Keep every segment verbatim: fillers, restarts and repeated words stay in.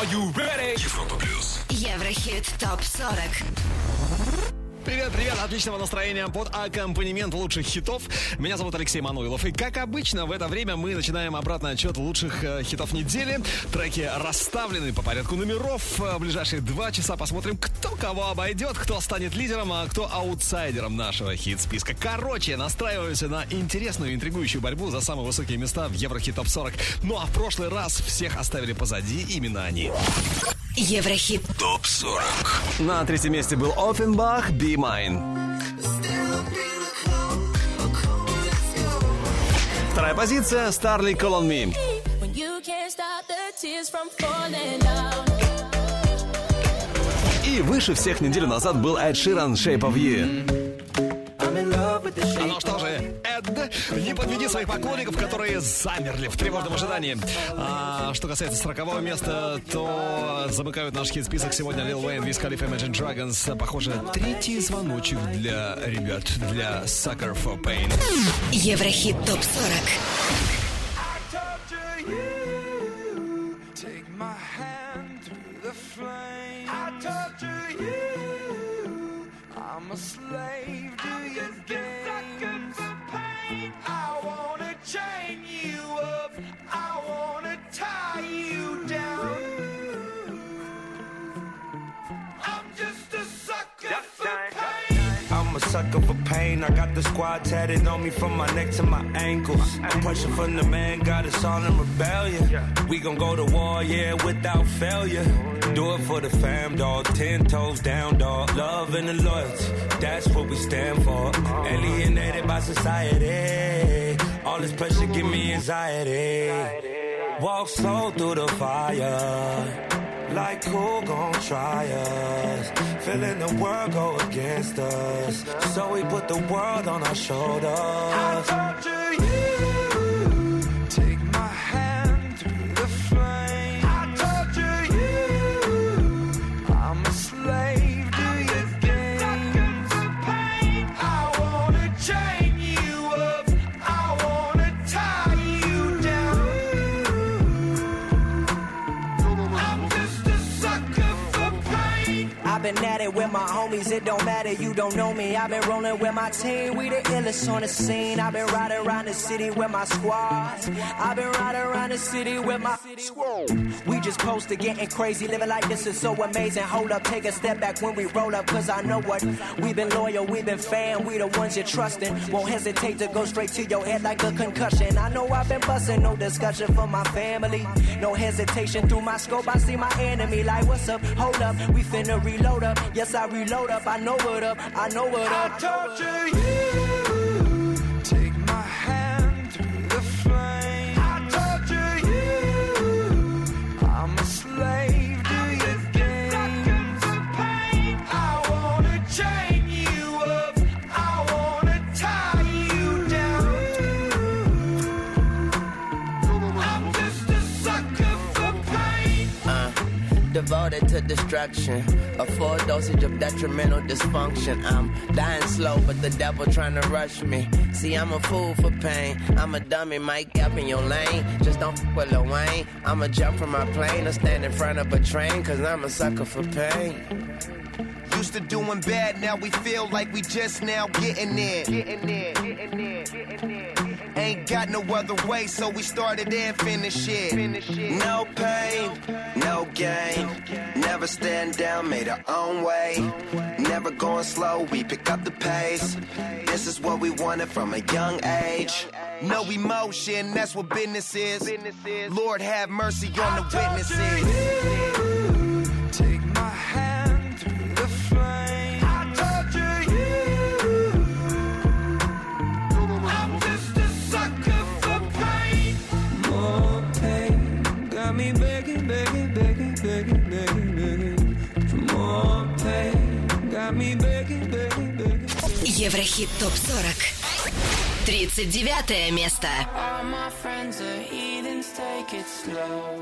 Are you ready? Европа плюс. Еврохит топ сорок. Привет, привет, отличного настроения под аккомпанемент лучших хитов. Меня зовут Алексей Мануилов. И как обычно, в это время мы начинаем обратный отчет лучших э, хитов недели. Треки расставлены по порядку номеров. В ближайшие два часа посмотрим, кто кого обойдет, кто станет лидером, а кто аутсайдером нашего хит-списка. Короче, настраиваемся на интересную, интригующую борьбу за самые высокие места в Еврохит топ сорок. Ну а в прошлый раз всех оставили позади именно они. Еврохит топ сорок. На третьем месте был Offenbach, Be Mine. Вторая позиция, Starley, Call on Me. И выше всех неделю назад был Эд Ширан, Shape of You. А ну что же, Эд, не подведи своих поклонников, которые замерли в тревожном ожидании. А что касается сорокового места, то замыкают наш хит-список сегодня Lil Wayne, Wiz Khalifa, Imagine Dragons. Похоже, третий звоночек для ребят, для Sucker for Pain. Еврохит топ сорок. I'm a slave to your games. I wanna chain you up. I wanna tie you down. I'm just a sucker for pain. I'm a sucker for pain. I got the squad tatted on me from my neck to my ankles. The pressure from the man got us all in rebellion. We gon' go to war, yeah, without failure. Do it for the fam, dog. Ten toes down, dog. Love and the loyalty, that's what we stand for. Alienated by society. All this pressure give me anxiety. Walk slow through the fire. Like who gon' try us? Feeling the world go against us. So we put the world on our shoulders. I torture you. Take my hand through the flame. I torture you. I'm a slave to your games. I wanna chain you up. I wanna tie you down. I'm just a sucker for pain. I've been at it with my homies, it don't matter, you don't know me. I've been rolling with my team, we the illest on the scene. I've been riding around the city with my squad. I've been riding around the city with my squad. We just posted getting crazy, living like this is so amazing. Hold up, take a step back when we roll up, cause I know what. We've been loyal, we've been fan, we the ones you're trusting. Won't hesitate to go straight to your head like a concussion. I know I've been busting, no discussion for my family. No hesitation, through my scope I see my enemy. Like what's up, hold up, we finna reload up. Yes, I reload up, I know what up, I know what up. I torture you. Take my hand through the flame. I torture you. I'm a slave to your games. I wanna chain you up. I wanna tie you down. I'm just a sucker for pain. Uh, devoted to destruction. A full dosage of detrimental dysfunction. I'm dying slow, but the devil trying to rush me. See, I'm a fool for pain. I'm a dummy, Mike up in your lane. Just don't f with Lil Wayne. I'ma jump from my plane or stand in front of a train, cause I'm a sucker for pain. Used to doing bad, now we feel like we just now getting there. Getting there, getting there, getting there. Ain't got no other way, so we started and finished it. No pain, no gain. Never stand down, made our own way. Never going slow, we pick up the pace. This is what we wanted from a young age. No emotion, that's what business is. Lord have mercy on the witnesses. Take my hand through the flame. I torture you. I'm just a sucker for pain. More pain, got me begging, begging, begging, begging, begging, begging. For more pain, got me begging, begging, begging. Еврохит топ сорок. тридцать девятое место. All my friends are heathens, take it slow.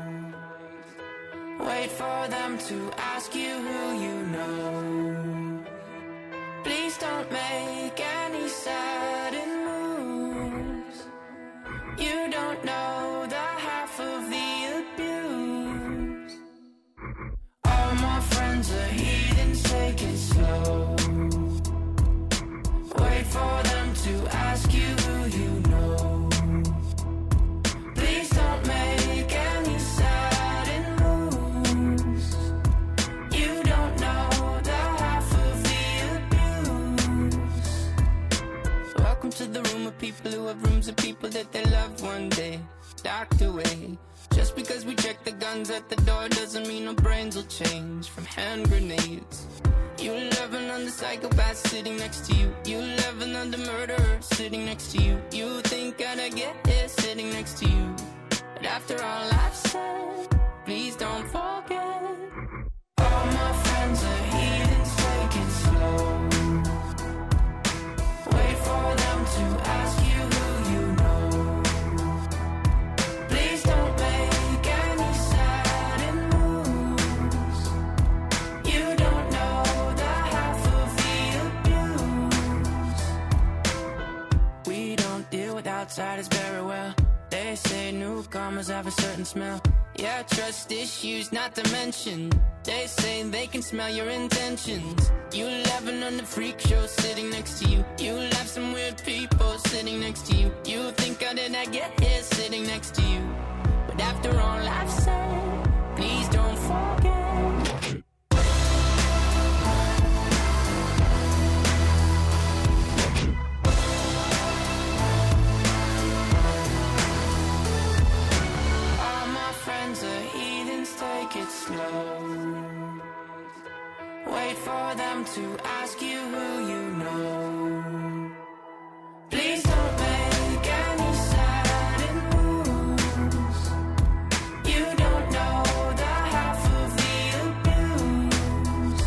Wait for them to ask you who you know. Please don't make any sudden moves. You don't know the half of the abuse. because we check the guns at the door doesn't mean our brains will change from hand grenades. You laughing on the psychopath sitting next to you. You laughing on the murderer sitting next to you. You think I'd get here sitting next to you. But after all I've said, please don't forget. All my friends are heathens, take it slow. Wait for them to ask you who you know. Please don't make any sudden moves. You don't know the half of the abuse. We don't deal with outsiders very well. They say newcomers have a certain smell. Yeah, trust issues not to mention. They say they can smell your intentions. You laughing on the freak show sitting next to you. You laugh some weird people sitting next to you. You think how did I get here sitting next to you. But after all I've said, please don't forget. Take it slow. Wait for them to ask you who you know. Please don't make any sudden moves. You don't know the half of the abuse.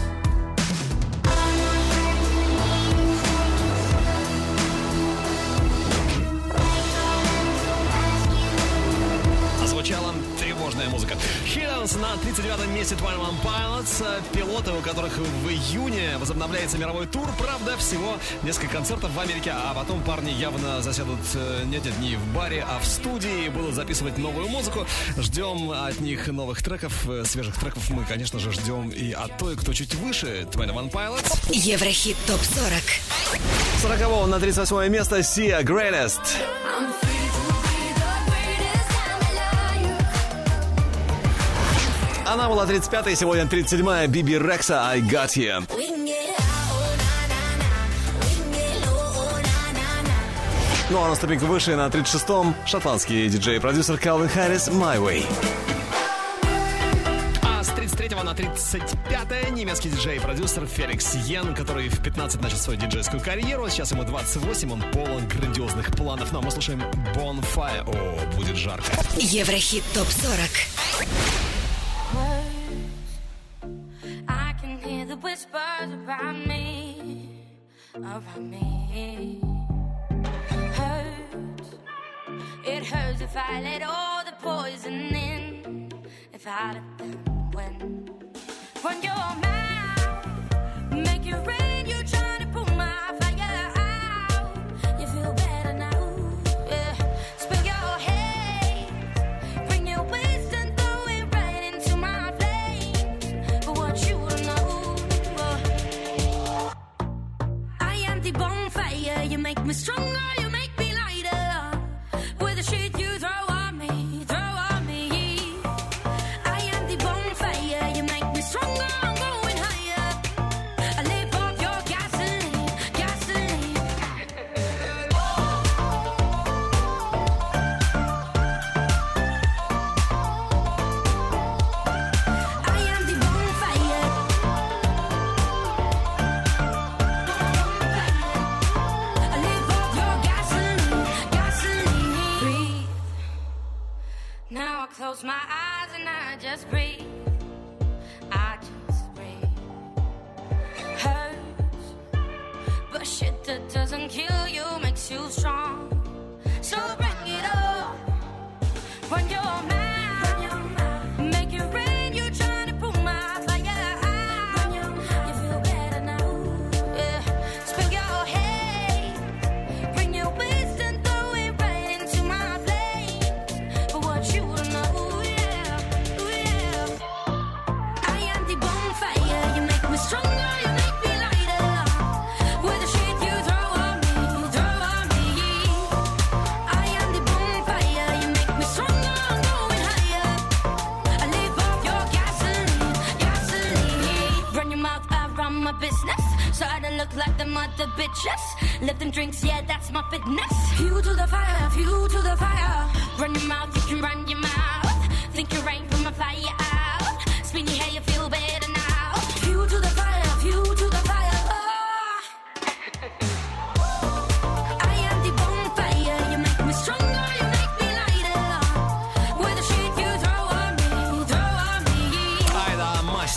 Озвучала тревожная музыка. Хидденс на тридцать девятом месте Twenty One Pilots. Пилоты, у которых в июне возобновляется мировой тур. Правда, всего несколько концертов в Америке, а потом парни явно засядут не эти дни в баре, а в студии, будут записывать новую музыку. Ждем от них новых треков, свежих треков. Мы, конечно же, ждем и от той, кто чуть выше, Twenty One Pilots. Еврохит топ сорок. сорокового на тридцать восьмое место Sia Greatest. Она была тридцать пятая, сегодня тридцать седьмая. Биби Рекса, I Got You. Ну а на ступеньку выше, на тридцать шестом, шотландский диджей и продюсер Калвин Харрис, My Way. А с тридцать третьего на тридцать пятое немецкий диджей и продюсер Феликс Йен, который в пятнадцать начал свою диджейскую карьеру. Сейчас ему двадцать восемь, он полон грандиозных планов. Ну а мы слушаем Bonfire. О, будет жарко. Еврохит топ сорок. I can hear the whispers around me, around me. Hurts, it hurts if I let all the poison in, if I let them win. Run your mouth, make it rain, you're trying to pull my fire out. You feel better now, yeah. Spill your hate, bring your wisdom, throw it right into my flames. But what you don't know, uh, I am the bonfire. You make me stronger, you make me lighter. With the shit you throw on me, throw on me. I am the bonfire. You make me stronger, I'm going higher. I live off your gasoline, gasoline. I am the bonfire. I live off your gasoline, gasoline. Breathe. Now I close my eyes and I just breathe. I just breathe. Hurts, but shit that doesn't kill you makes you strong. So bring it up. Run your mouth. Make it rain. You're trying to pull my fire out. You feel better now. Yeah. Spill your hate. Bring your wisdom. Throw it right into my flames. But what you don't know, yeah, yeah. I am the bonfire. You make me stronger. You make me lighter. With the shit you throw on me, throw on me. I am the bonfire. You make me stronger. I'm going higher. I live off your gasoline, gasoline. Run your mouth around my business, so I don't look like the mother bitches. Let them drinks, yeah, that's my fitness. Fuel to the fire, fuel to the fire. Run your mouth, you can run your mouth. Think you're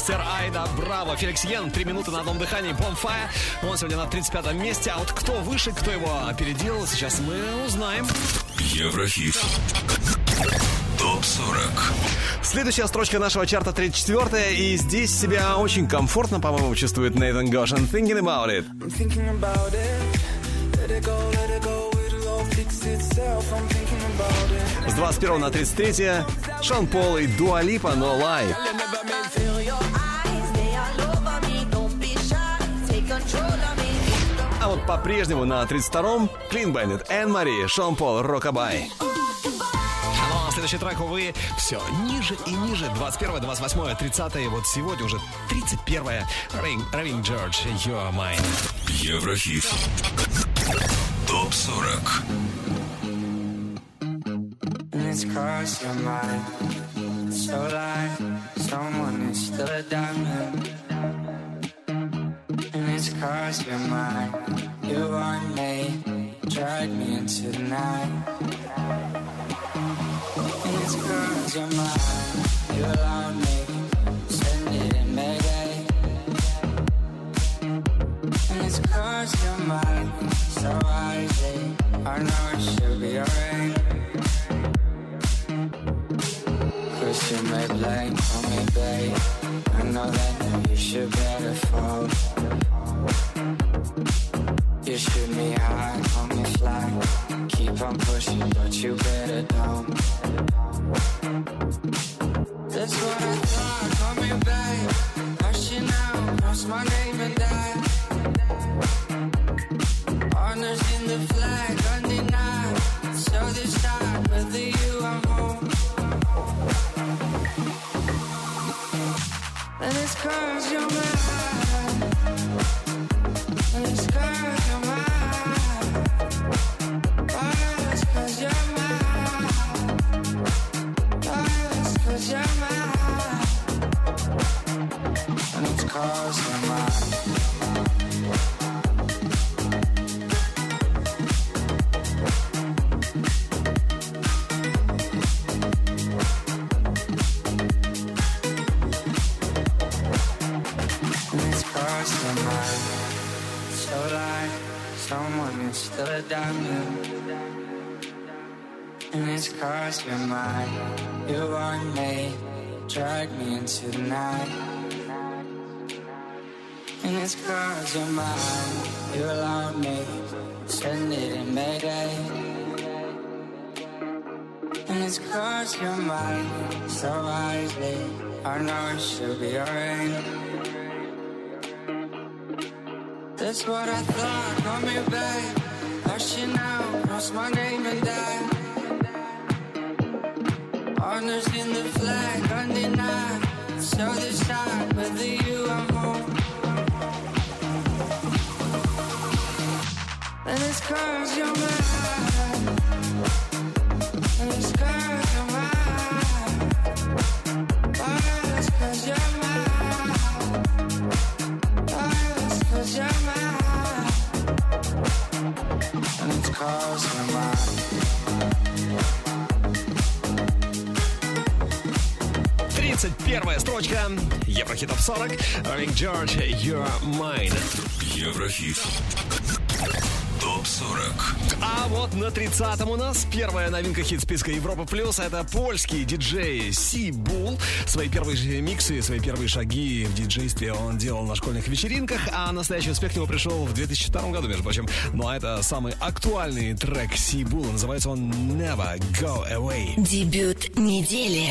мистер Айда Браво. Феликс Йен, три минуты на одном дыхании, Bonfire. Он сегодня на тридцать пятом месте. А вот кто выше, кто его опередил, сейчас мы узнаем. Еврохит. топ сорок. Следующая строчка нашего чарта тридцать четвёртая. И здесь себя очень комфортно, по-моему, чувствует Нейтан Гошин. Thinking about it. I'm thinking about it. Let it go, let it go. It'll all fix itself. I'm thinking about it. С двадцать первого на тридцать третье Шон Пол и Дуа Липа, No Lie. А вот по-прежнему на тридцать втором Клин Бендит, Энн Мари, Шон Пол, Rockabye. Ну а следующий трек, увы, все ниже и ниже. двадцать первое, двадцать восьмое, тридцатое. Вот сегодня уже тридцать первое. Raving George, You're Mine. Еврохит. топ сорок. It's cause you're mine. So like someone is still a diamond. And it's cause you're mine. You want me, drag me into the night. And it's cause you're mine. You allowed me, send it in Mayday. And it's cause you're mine. So wisely, I know it should be alright. Cause you may blame, call me babe. I know that you should better fall. You shoot me high, call me fly. Keep on pushing, but you better don't. That's what I thought, call me babe. Hush you now, cross my name and die. Honors in the flag, undenied. So this time, whether you are home. And it's cause you're mine. And it's cause you're mine. Oh, it's cause you're mine. Oh, it's cause you're mine. And it's cause you're mine. Still a diamond. And it's cause you're mine. You want me, drag me into the night. And it's cause you're mine. You allowed me, send it in Mayday. And it's cause you're mine. So wisely, I know it should be alright. That's what I thought, call me babe. Hush you now, cross my name and die. Honors in the flag, undenied. So this time, whether you are home. And it's cause you're mine. And it's cause you're mine. Oh, it's cause you're mine. Oh, it's cause you're mine. And it's cause you're mine. тридцать первая строчка. Еврохит топ сорок. Ring George, You're Mine. Еврохит. топ сорок. А вот на тридцатом у нас первая новинка хит-списка Европа Плюс. Это польский диджей Си Бул. Свои первые же миксы, свои первые шаги в диджействе он делал на школьных вечеринках, а настоящий успех к нему пришел в две тысячи втором году, между прочим. Ну а это самый актуальный трек Си Була. Называется он Never Go Away. Дебют недели.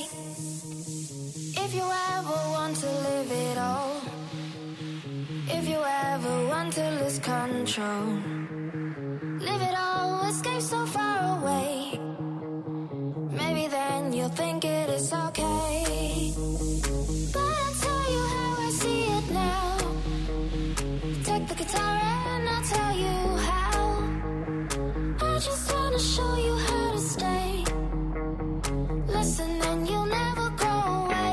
If you ever want to live it all, if you ever want to lose control, live it all, escape so far away. Maybe then you'll think it is okay. But I'll tell you how I see it now. Take the guitar and I'll tell you how. I just wanna show you how to stay. Listen and you'll never go away.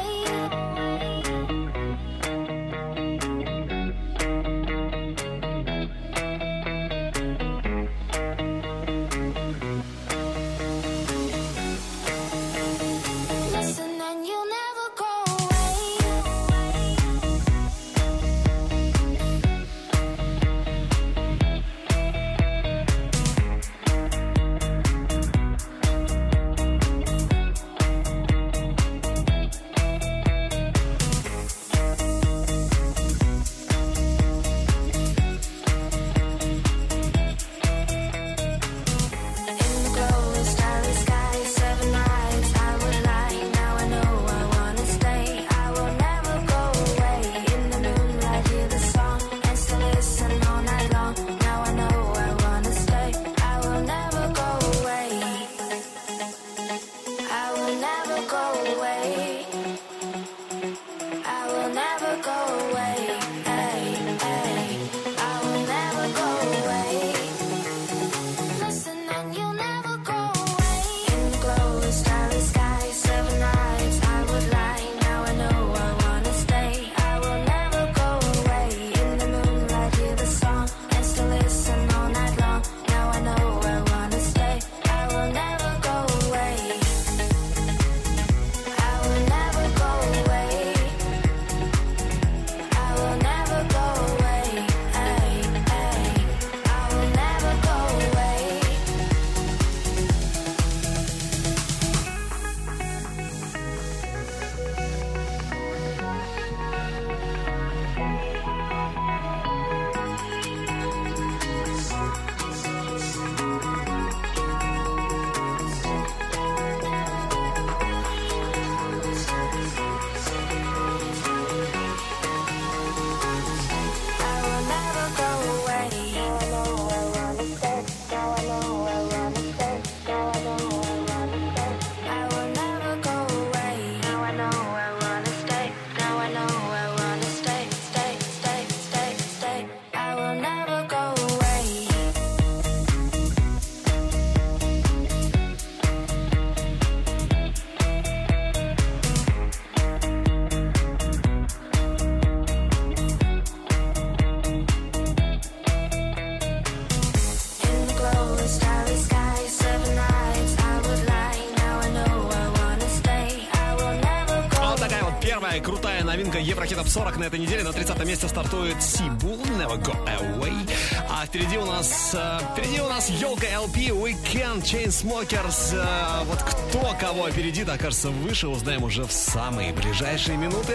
такая вот первая крутая новинка Еврохитов сорок на этой неделе. На тридцатом месте стартует Сибул, Never Go Away. А впереди у нас э, впереди у нас елка эл пи, Weekend, Chainsmokers. Э, вот кто кого опередит, окажется выше, узнаем уже в самые ближайшие минуты.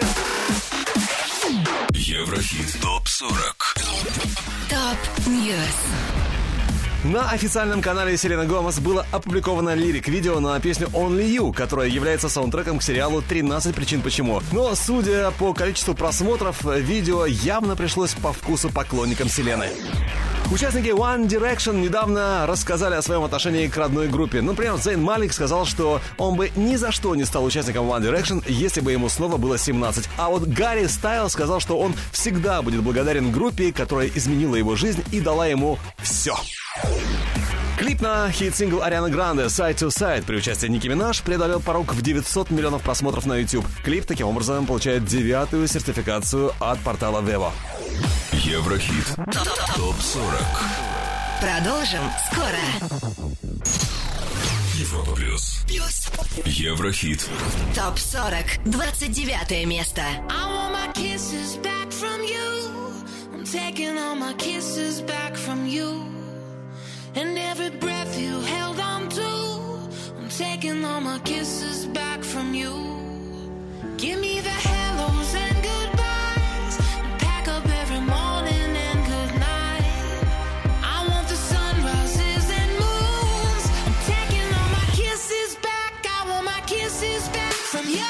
Еврохит топ сорок. Топ Ньюс. На официальном канале Селены Гомес было опубликовано лирик-видео на песню Only You, которая является саундтреком к сериалу тринадцать причин почему. Но, судя по количеству просмотров, видео явно пришлось по вкусу поклонникам Селены. Участники One Direction недавно рассказали о своем отношении к родной группе. Например, Зейн Малик сказал, что он бы ни за что не стал участником One Direction, если бы ему снова было семнадцать. А вот Гарри Стайл сказал, что он всегда будет благодарен группе, которая изменила его жизнь и дала ему все. Клип на хит-сингл Арианы Гранде «Side to Side» при участии Ники Минаж преодолел порог в девятьсот миллионов просмотров на YouTube. Клип таким образом получает девятую сертификацию от портала Vevo. Еврохит топ сорок. Продолжим скоро. Европа плюс. Плюс. Еврохит Топ сорок. двадцать девятое место. I want my kisses back from you. I'm taking all my kisses back from you. And every breath you held on to, I'm taking all my kisses back from you. Give me the hellos and goodbyes, and pack up every morning and good night. I want the sunrises and moons. I'm taking all my kisses back. I want my kisses back from you.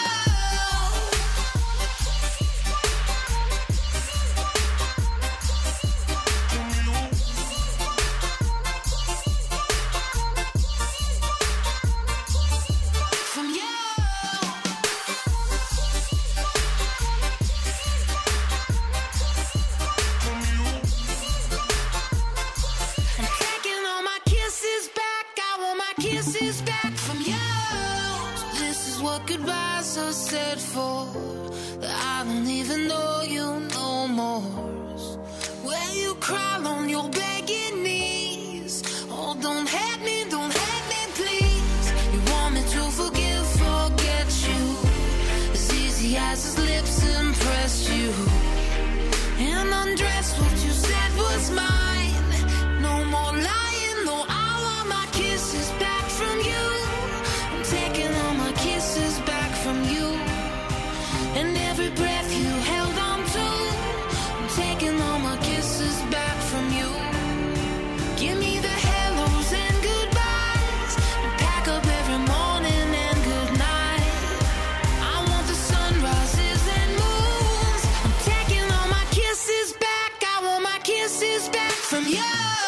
Goodbyes are said for that I don't even know you no more. Where you cry on your begging knees. Oh, don't hate me, don't hate me, please. You want me to forgive, forget you, as easy as his lips impressed you. And undress what you said was mine. No more lying, no, I want my kisses back from you. I'm taking all my kisses back from you. And every breath you held on to, I'm taking all my kisses back from you. Give me the hellos and goodbyes, and pack up every morning and good night. I want the sunrises and moons. I'm taking all my kisses back. I want my kisses back from you.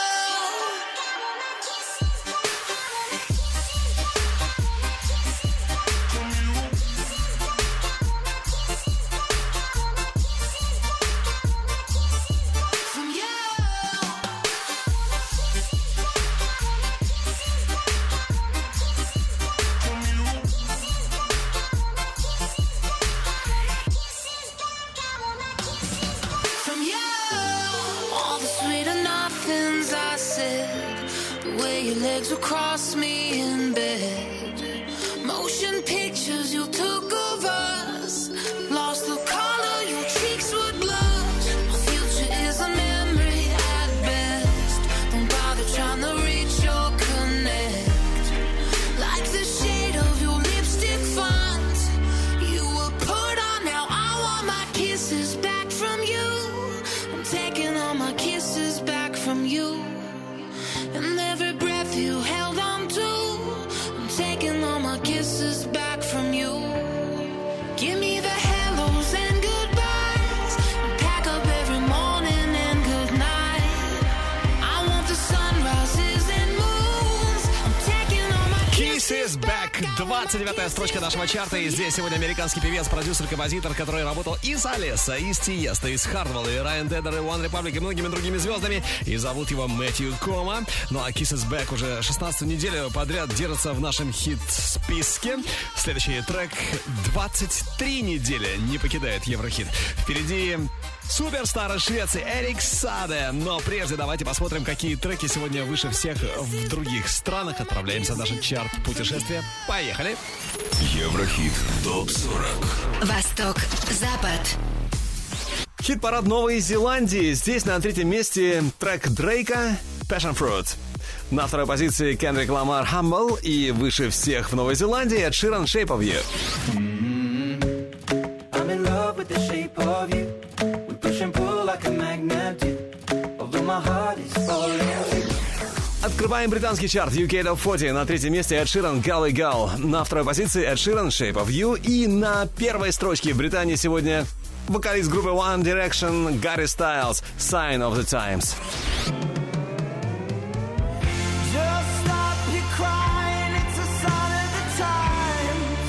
Legs across me in bed. Motion pictures you took of us. Lost the color, your cheeks would blush. My future is a memory at best. Don't bother trying to reach or connect. Like the shade of your lipstick font you were put on. Now I want my kisses back from you. I'm taking all my kisses back from you. And every breath you held on to, I'm taking all my kisses back from you. Give me the hellos and goodbyes, and pack up every morning and good night. I want the sunrises and moons. I'm taking all my Kisses back. двадцать девятая строчка нашего чарта. И здесь сегодня американский певец, продюсер, композитор, который работал и с Алеса, и с Тиесто, и с Хардвелл, и Райан Теддер, и One Republic, и многими другими звездами. И зовут его Мэтью Кома. Ну а Kisses Back уже шестнадцатую неделю подряд держится в нашем хит-списке. Следующий трек двадцать три недели не покидает Еврохит. Впереди суперстар из Швеции Эрик Саде. Но прежде давайте посмотрим, какие треки сегодня выше всех в других странах. Отправляемся в наш чарт путешествия. Поехали! Еврохит топ сорок. Восток, Запад. Хит-парад Новой Зеландии. Здесь на третьем месте трек Дрейка «Passion Fruit». На второй позиции Кендрик Ламар «Humble». И выше всех в Новой Зеландии Эд Ширан «Shape of You». I'm in love with the shape of you. We push and pull like a magnet do. Although my heart is falling too. Открываем британский чарт ю кей Top сорок. На третьем месте Эд Ширан «Gully Gal». На второй позиции Эд Ширан «Shape of You». И на первой строчке в Британии сегодня вокалист группы One Direction Гарри Стайлз «Sign of the Times». Just stop your crying, it's a sign of the times.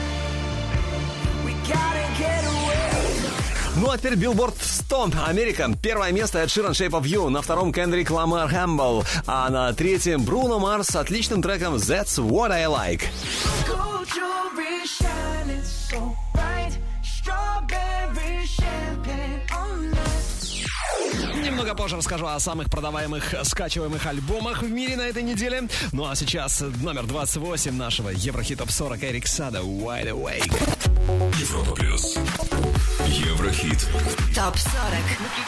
We gotta get away. Ну а теперь Billboard сто. Америка. Первое место Эд Ширан «Shape of You». На втором Кендрик Ламар «Humble». А на третьем Бруно Марс с отличным треком «That's What I Like». Gold jewelry shining so bright. Strawberry champagne on us. Немного позже расскажу о самых продаваемых скачиваемых альбомах в мире на этой неделе. Ну а сейчас номер двадцать восемь нашего Еврохит Топ сорок Эрик Сада «Wide Awake». Европа плюс. Еврохит. Топ сорок.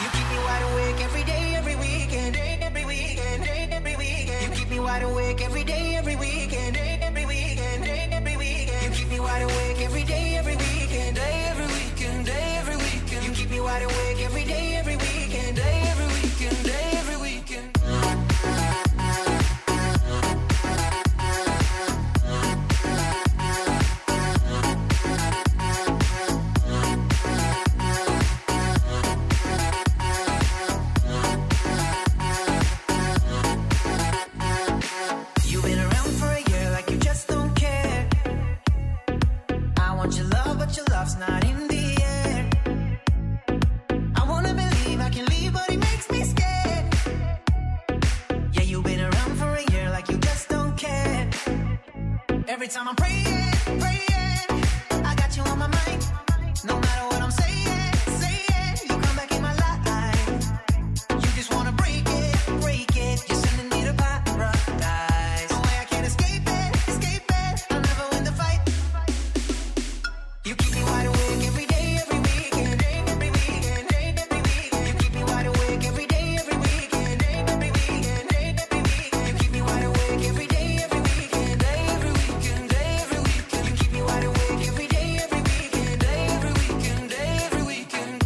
Not in the air. I wanna believe I can leave, but it makes me scared. Yeah, you've been around for a year like you just don't care. Every time I'm praying, praying, I got you on my mind. No matter what I'm saying, saying, you come back in my life. You just wanna break it, break it. You're sending me to paradise. No way I can't escape it, escape it. I'll never win the fight. You keep me wide awake every day, every weekend, every weekend, every weekend. You keep me wide awake every day, every weekend, every weekend, every weekend. You keep me wide awake every day, every weekend, every weekend, every weekend. You keep me wide awake every day, every weekend, every weekend, every weekend.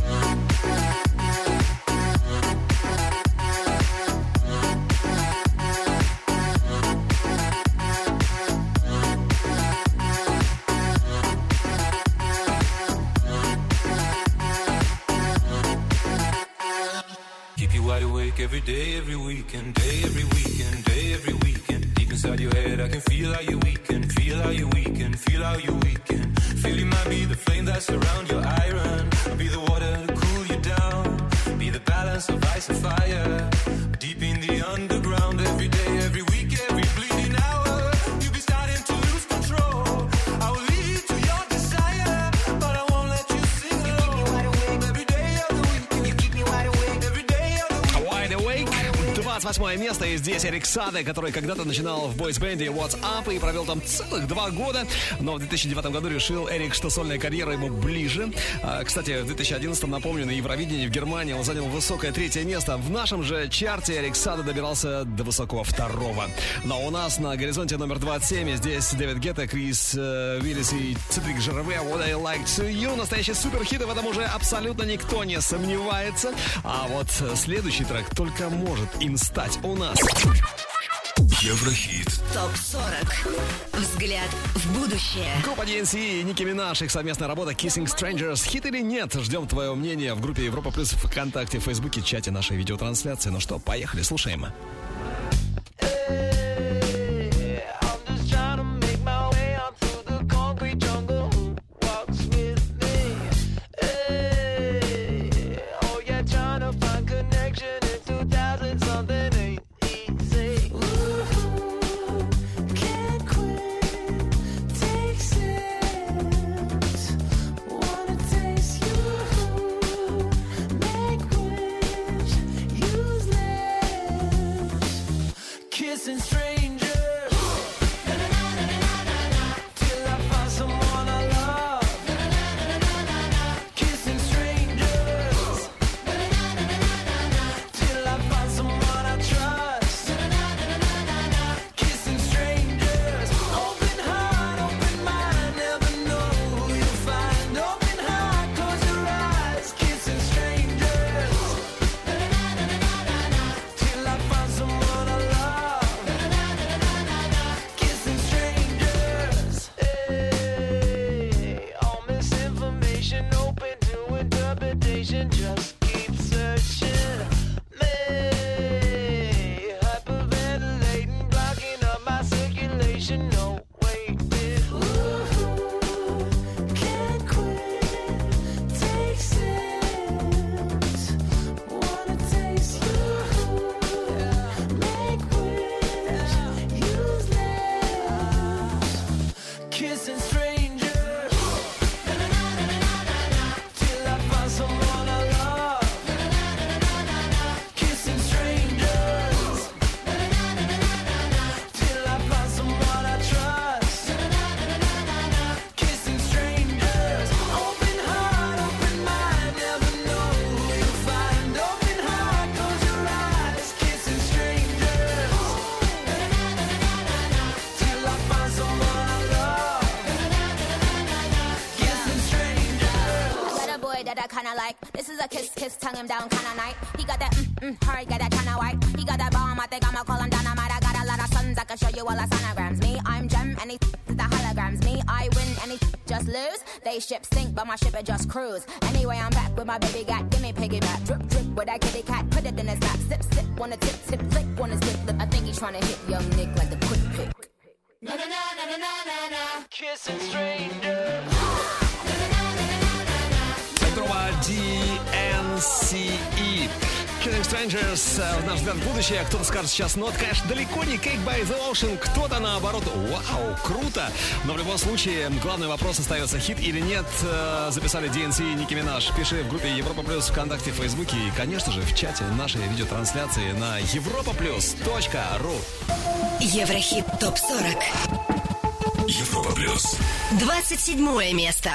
Keep you wide awake every day, every weekend, day, every weekend, day, every weekend. Deep inside your head, I can feel how you weaken, feel how you weaken, feel how you weaken. Feel you might be the flame that surround your iron. I'll be the water to cool you down. Be the balance of ice and fire. Deep in the underground, every day, every week, every bleeding hour. You'll be starting to lose control. I will lead to your desire, but I won't let you sing alone. Every day of the weekend, you keep me wide awake. Every day of the weekend. Wide Awake. двадцать восьмое место, и здесь Эрик Саде, который когда-то начинал в бойсбенде What's Up и провел там целых два года, но в две тысячи девятом году решил Эрик, что сольная карьера ему ближе. А, кстати, в две тысячи одиннадцатом, напомню, на Евровидении в Германии он занял высокое третье место. В нашем же чарте Эрик Саде добирался до высокого второго. Но у нас на горизонте номер двадцать семь, здесь Дэвид Гетта, Крис э, Уиллис и Цедрик Жерве «What I Like to You». Настоящий суперхит, и в этом уже абсолютно никто не сомневается. А вот следующий трек только может им стать у нас. Еврохит. Топ сорок. Взгляд в будущее. Группа ди эн си и Ники Минаж, их совместная работа Kissing Strangers. Хит или нет? Ждем твое мнение в группе Европа Плюс, ВКонтакте, в Фейсбуке, чате нашей видеотрансляции. Ну что, поехали, слушаем. Kissing strangers till I find someone I love. way that I kinda like. This is a kiss, kiss, tongue him down kinda night. He got that mm mm, hard, got that kinda white. He got that bomb, I think I'ma call him dynamite. I got a lot of sons, I can show you all the sonograms. Me, I'm gem, and he the holograms. Me, I win, and he just lose. They ship sink, but my ship it just cruise. Anyway, I'm back with my baby gat. Give me piggyback, drip, drip with that kitty cat. Put it in his lap, sip, sip, wanna tip, tip, lick, wanna zip, lip. I think he's trying to hit young Nick like a quick pick. Na na na na na na na na, kissing strangers. Центрова ди эн си и. Killing Strangers, наш взгляд в будущее. Кто-то скажет сейчас, ну, это, конечно, далеко не Cake by the Ocean. Кто-то, наоборот, вау, круто. Но в любом случае, главный вопрос остается, хит или нет. Записали ди эн си и Ники Минаж. Пиши в группе Европа Плюс ВКонтакте, в Фейсбуке и, конечно же, в чате нашей видеотрансляции на европа плюс точка ру. Еврохит топ сорок. Европа Плюс. двадцать седьмое место.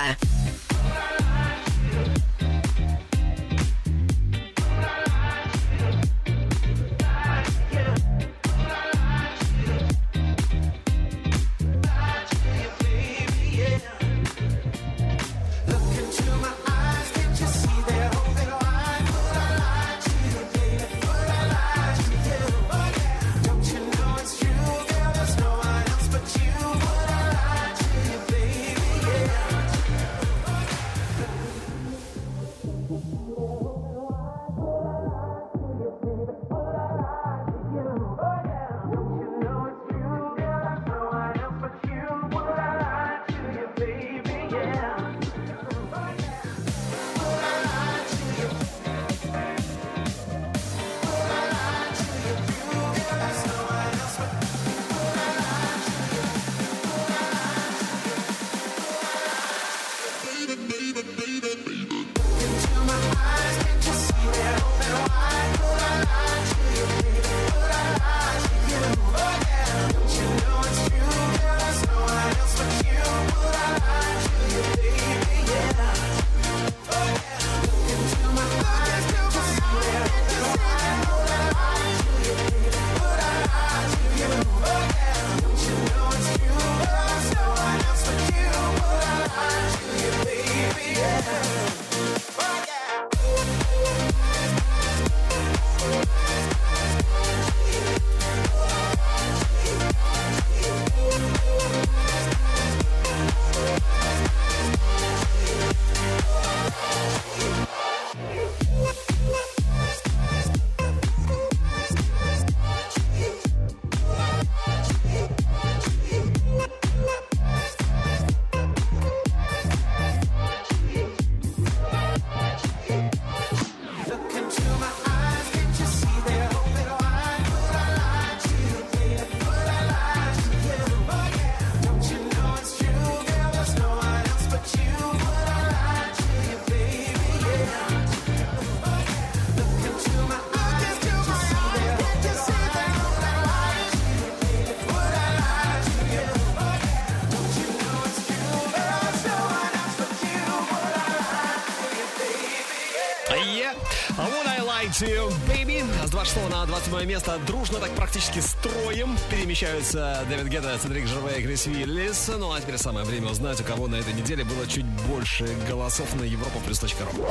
Baby. С двадцать шестого на двадцать седьмое место дружно, так практически строем перемещаются Дэвид Гетта, Цедрик Жервей и Крис Виллис. Ну а теперь самое время узнать, у кого на этой неделе было чуть больше голосов на европа плюс точка ру.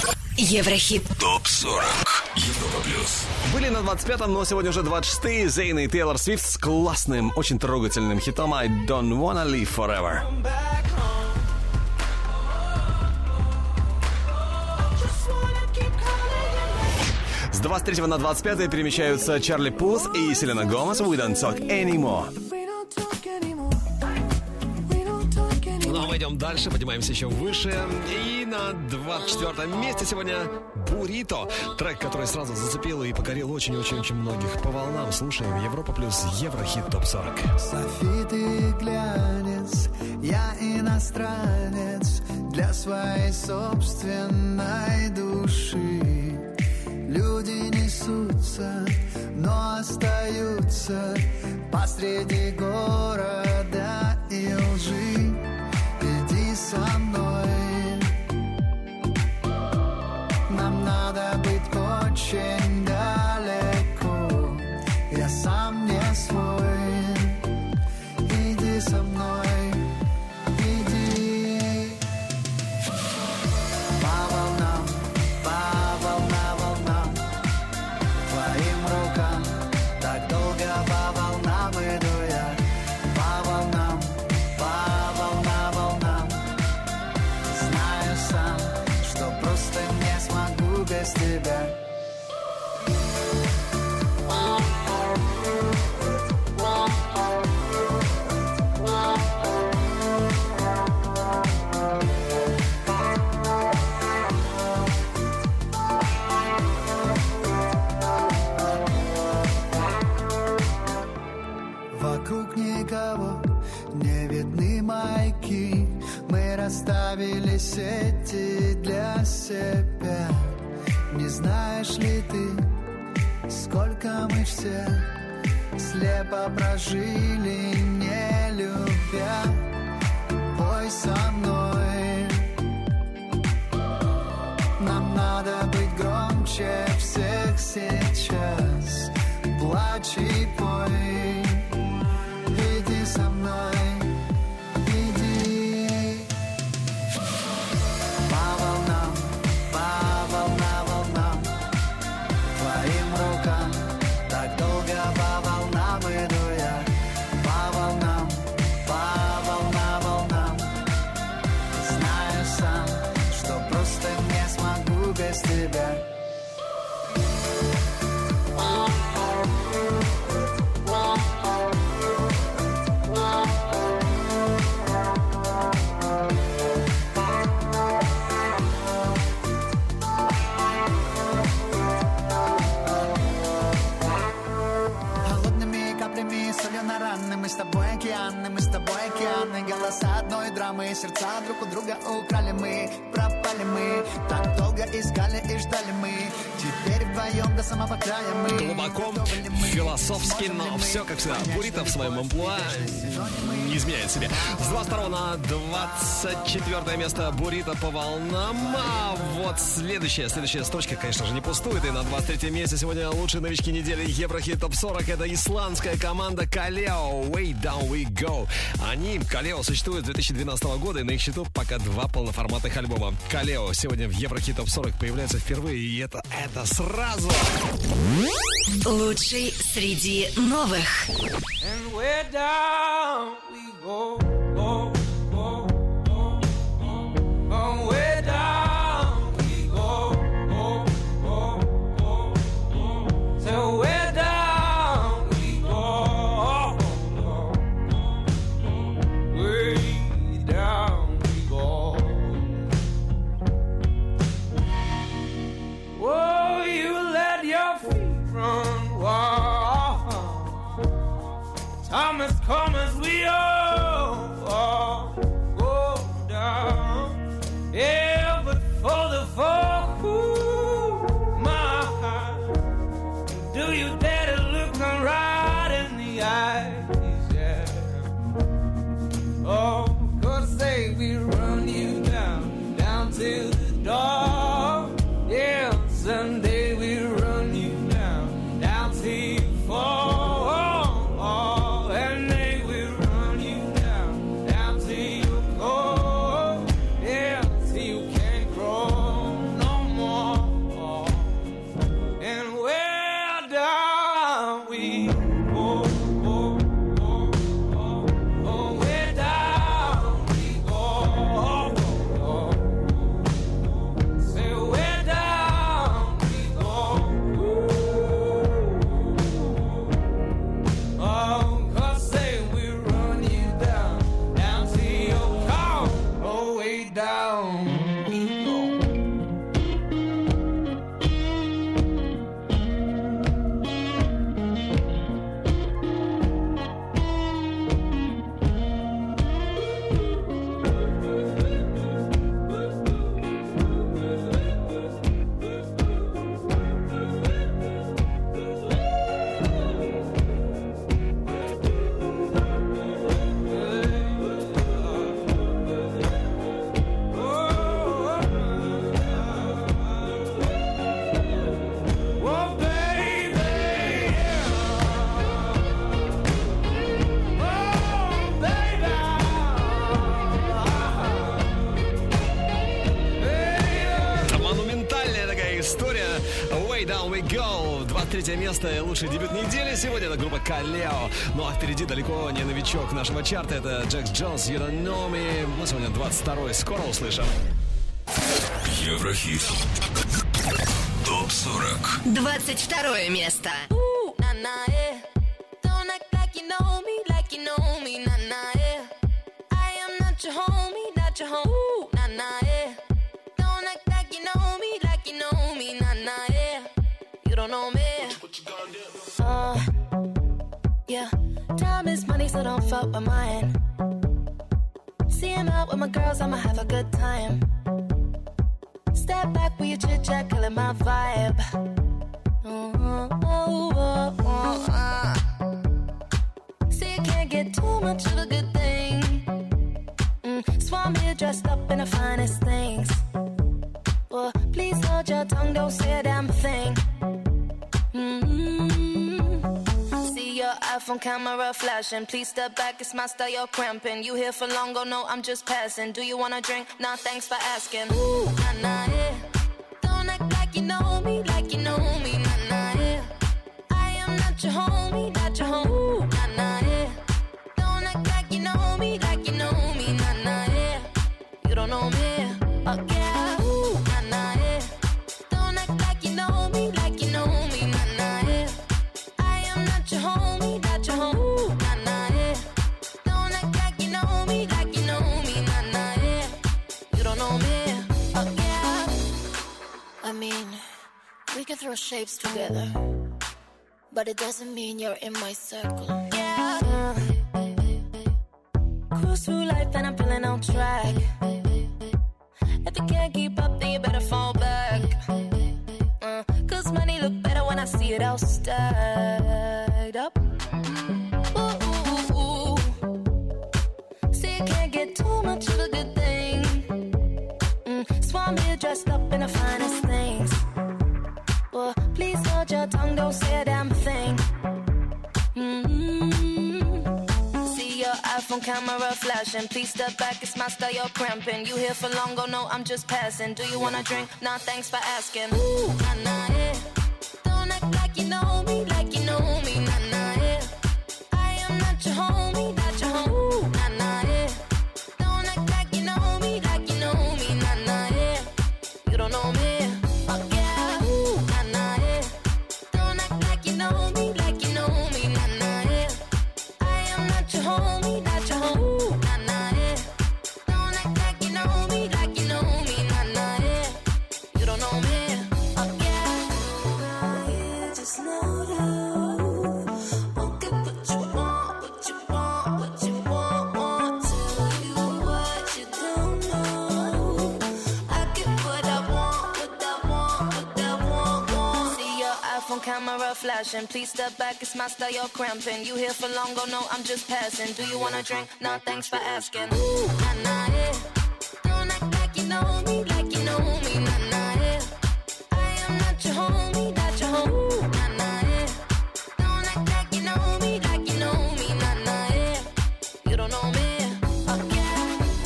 Еврохит топ сорок. Европа Плюс. Были на двадцать пятом, но сегодня уже двадцать шестые. Зейн и Тейлор Свифт с классным, очень трогательным хитом I Don't Wanna Live Forever. С двадцать третьего на двадцать пятое перемещаются Чарли Пут и Селена Гомес We Don't Talk Anymore. Ну а мы идем дальше, поднимаемся еще выше. И на двадцать четвёртом месте сегодня Бурито. Трек, который сразу зацепил и покорил очень-очень-очень многих. По волнам слушаем Европа Плюс Еврохит топ сорок. Софи, ты глянец, я иностранец для своей собственной души. Люди несутся, но остаются посреди города и лжи. Иди со мной, нам надо быть очень далеко. Я сам не свой, иди со мной, иди. По без тебя. Вокруг никого не видны маяки. Мы расставили сети для себя. Не знаешь ли ты, сколько мы все слепо прожили, не любя? Пой со мной. Нам надо быть громче всех сейчас. Плачь и пой. Иди со мной. Иди. По волнам, по волна волнам, твоим рукам. Так долго по волнам иду я. По волнам, по волна волнам. Знаю сам, что просто не смогу без тебя. Мы с тобой океаны, мы с тобой океаны. Голоса одной драмы, сердца друг у друга украли мы. Пропали мы, так долго искали и ждали мы. Теперь вдвоем до самого края мы. Глубоко, философски, но все как всегда. Бурито в своем амплуа не изменяет себе. С двадцать второго на двадцать четвёртое место Бурито по волнам. А вот следующая, следующая строчка, конечно же, не пустует. И на двадцать третьем месте сегодня лучшие новички недели Еврохит топ сорок. Это исландская команда Kaleo. Way Down We Go. Они, Kaleo, существуют с две тысячи двенадцатого года, и на их счету пока два полноформатных альбома. Kaleo сегодня в Еврохит топ сорок появляется впервые, и это, это сразу. Лучший среди новых. And we're down we go, go, go, go, go. And we're down we go, go, go, go, go. So we're down we go, go, go. Way down we go. Oh, you let your feet run wild. Time has come as we all, all go down. Yeah, but for the fall, ooh, my heart, do you dare to look me right in the eyes? Yeah. Oh, 'cause they will run you down, down to the door. Yeah, someday we'll run you down, down till you fall. Третье место и лучший дебют недели. Сегодня это группа Kaleo. Ну а впереди далеко не новичок нашего чарта. Это Джекс Джонс, You Don't Know Me. Мы сегодня двадцать второй. Скоро услышим. Еврохит. топ сорок. двадцать второе место. Ooh, nah, nah, yeah. Don't act like you know me, like you know me, nah, nah, yeah. I am not your homie, not your home. Ooh, nah, nah, yeah. Don't act like you know me, like you know me, nah, nah, yeah. You don't know me. Uh, yeah. Time is money, so don't fuck with mine. See him out with my girls, I'ma have a good time. Step back with your chit chat, killing my vibe. Oh, oh, oh, oh, uh. See, you can't get too much of a good thing. Mm, so I'm here dressed up in the finest things. Well, please hold your tongue, don't say a damn thing. Mm-hmm. See your iPhone camera flashing. Please step back, it's my style, you're cramping. You here for long, go no, I'm just passing. Do you wanna drink? Nah, thanks for asking. Ooh, nah, nah, yeah. Don't act like you know me, like you know me, nah, nah, yeah. I am not your homie, not your home. Ooh, nah, nah, yeah. Don't act like you know me, like you know me, nah, nah, yeah. You don't know me, oh yeah. Ooh, nah, nah, yeah. Don't act like you know me, like you know me, nah, nah, yeah. I am not your homie, not your home. Ooh, nah, nah, yeah. Don't act like you know me, like you know me, nah, nah, yeah. You don't know me, oh yeah. I mean, we can throw shapes together, but it doesn't mean you're in my circle. Yeah. Uh, cruise through life and I'm feeling on track. If you can't keep up, then you better fall back. Uh, Cause money look better when I see it all stacked up. Ooh, ooh, ooh. See, you can't get too much of a good thing. Mm, so I'm here dressed up in the finest things. Well, please hold your tongue, don't say a damn thing. Mm-hmm. See your iPhone camera flashing. Please step back, it's my style, you're cramping. You here for long, go no, I'm just passing. Do you wanna drink? Nah, thanks for asking. Ooh, nah, nah, yeah. Don't act like you know me, like you know me, nah, nah, yeah. I am not your homie, not your home. Ooh, nah, nah, yeah. Don't act like you know me, like you know me, nah, nah, yeah. You don't know me, oh yeah. Ooh, nah, nah, yeah. Don't act like you know me, like you know me, nah, nah, yeah. I am not your homie, not your home. Ooh, nah, nah, yeah. Don't act like you know me, like you know me, nah, nah, yeah. You don't know me, oh yeah. Just slow down. Won't get what you want, what you want, what you want, want. Tell you what you don't know. I get what I want, what I want, what I want, want. See your iPhone camera flashing. Please step back, it's my style, you're cramping. You here for long, go no, I'm just passing. Do you wanna drink? Nah, thanks for asking. Ooh, nah, nah, yeah. Don't act like you know me, like you know me, nah, nah, yeah. I am not your homie, not your home. Ooh, nah, nah, yeah. Don't act like you know me, like you know me, nah, nah, yeah. You don't know me, oh yeah.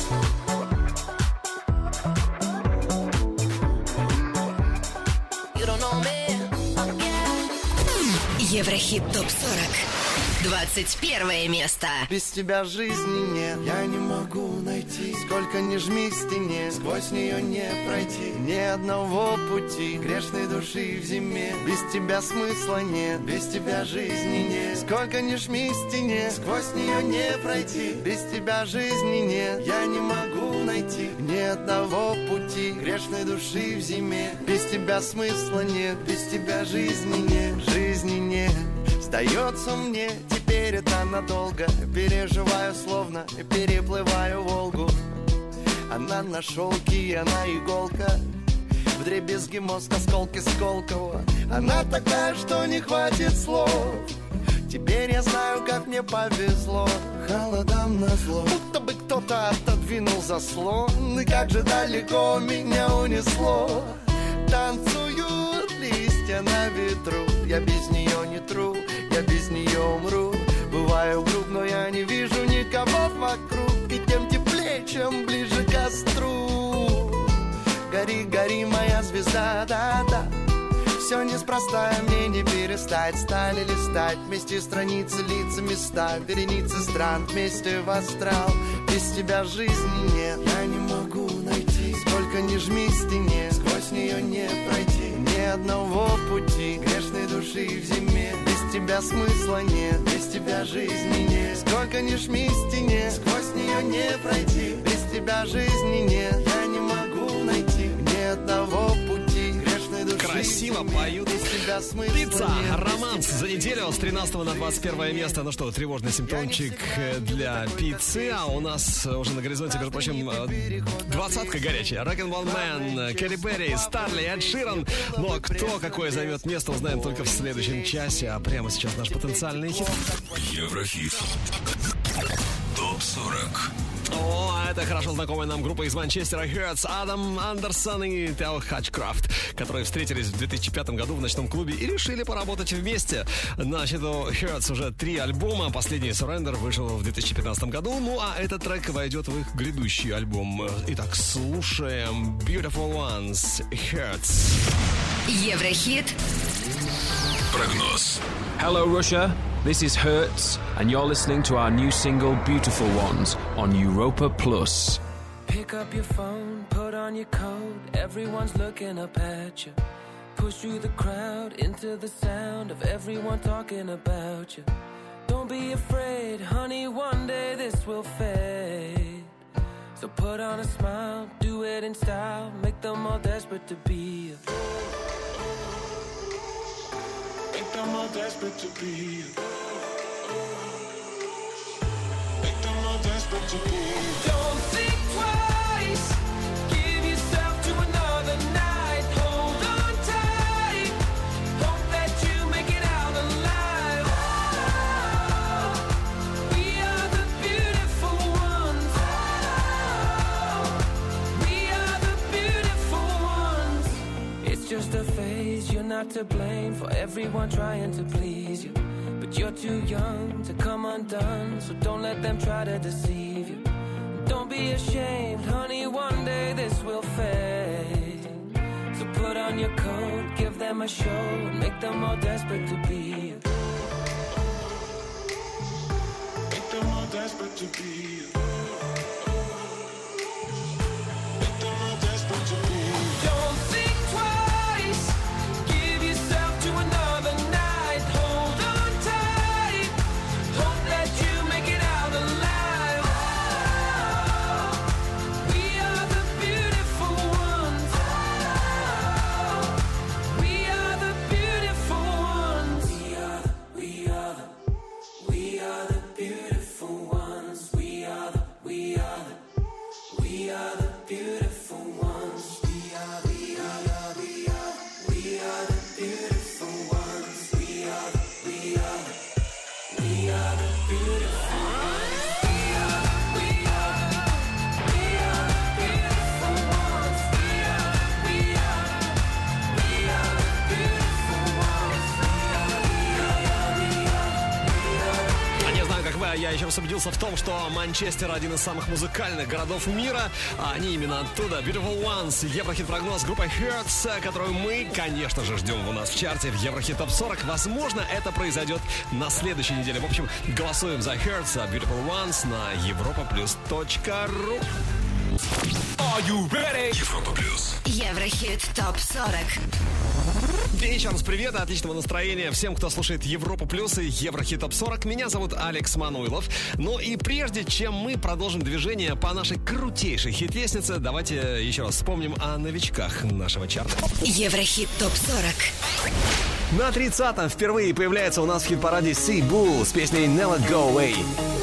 You don't know me, oh yeah. Еврохит топ сорок. двадцать первое место. Без тебя жизни нет, я не могу найти. Сколько ни жми к стене, сквозь нее не пройти. Ни одного пути, грешной души в зиме. Без тебя смысла нет, без тебя жизни нет. Сколько ни жми к стене, сквозь нее не пройти. Без тебя жизни нет, я не могу найти. Ни одного пути, грешной души в зиме. Без тебя смысла нет, без тебя жизни нет. Жизни нет. Сдается мне, теперь это надолго. Переживаю, словно переплываю Волгу. Она на шелке, она иголка. Вдребезги мозг, осколки Сколково. Она такая, что не хватит слов. Теперь я знаю, как мне повезло. Холодам назло, будто бы кто-то отодвинул заслон. И как же далеко меня унесло. Танцуют листья на ветру. Я без нее не тру, я без нее умру. Бываю груб, но я не вижу никого вокруг. И тем теплее, чем ближе к костру. Гори, гори, моя звезда, да-да. Все неспроста, мне не перестать. Стали листать вместе страницы, лица, места. Вереницы стран вместе в астрал. Без тебя жизни нет, я не могу найти. Сколько ни жми к стене, сквозь нее не пройти. Ни одного пути грешной души в зиме. Без тебя смысла нет, без тебя жизни нет. Сколько ни жми стене, сквозь нее не пройти. Без тебя жизни нет, я не могу найти ни одного пути грешной души. Красиво поют. Пицца, романс за неделю с тринадцатого на двадцать первое место. Ну что, тревожный симптомчик для пиццы. А у нас уже на горизонте, между прочим, двадцатка горячая. Rock'n'Roll Man, Кэрри Перри, Старли, Эд Ширан. Ну а кто какое займет место, узнаем только в следующем часе. А прямо сейчас наш потенциальный хит. Еврохит. топ сорок. О, это хорошо знакомая нам группа из Манчестера Hurts, Адам Андерсон и Тео Хатчкрафт, которые встретились в две тысячи пятом году в ночном клубе и решили поработать вместе. Значит, у Hurts уже три альбома, последний Surrender вышел в две тысячи пятнадцатом году, ну а этот трек войдет в их грядущий альбом. Итак, слушаем Beautiful Ones, Hurts. Еврохит. Прогноз. Hello, Russia. This is Hurts, and you're listening to our new single, Beautiful Ones, on Europa Plus. Pick up your phone, put on your coat, everyone's looking up at you. Push through the crowd, into the sound of everyone talking about you. Don't be afraid, honey, one day this will fade. So put on a smile, do it in style, make them all desperate to be you. Make them all desperate to be you. Make them all desperate to be you. Don't think twice. Give yourself to another night. Hold on tight. Hope that you make it out alive. Oh, we are the beautiful ones. Oh, we are the beautiful ones. It's just a phase. You're not to blame for everyone trying to please you. But you're too young to come undone, so don't let them try to deceive you. Don't be ashamed, honey, one day this will fade. So put on your coat, give them a show, and make them all desperate to be you. Make them all desperate to be you. Make them all desperate to be you. Don't think twice. Give yourself to another night. Hold on tight. Hope that you make it out alive. Oh, we are the beautiful ones. Oh, we are the beautiful ones. We are the, we are the, we are the beautiful ones. We are the, we are the, we are the beautiful ones. We are, we are, we are, we are the beautiful ones. We are, we are, we are the beautiful ones. We are, we are, we are the beautiful ones. We are, we are, we are the beautiful ones. А не знаю, как вы, а я еще раз убедился в том, что Манчестер один из самых музыкальных городов мира, а они именно оттуда. Beautiful Ones, Еврохит-прогноз группы Hurts, которую мы, конечно же, ждем у нас в чарте в Еврохит топ сорок. Возможно, это произойдет на следующей неделе. В общем, голосуем за Hurts, Beautiful Ones на европа плюс точка ру. Are you ready? Европа плюс. Еврохит топ сорок. Еще раз привет и отличного настроения всем, кто слушает Европу Плюс и Еврохит топ сорок. Меня зовут Алекс Мануилов. Ну и прежде чем мы продолжим движение по нашей крутейшей хит-лестнице, давайте еще раз вспомним о новичках нашего чарта. Еврохит топ сорок. На тридцатом впервые появляется у нас в хит-параде Sea Bull с песней Never Go Away.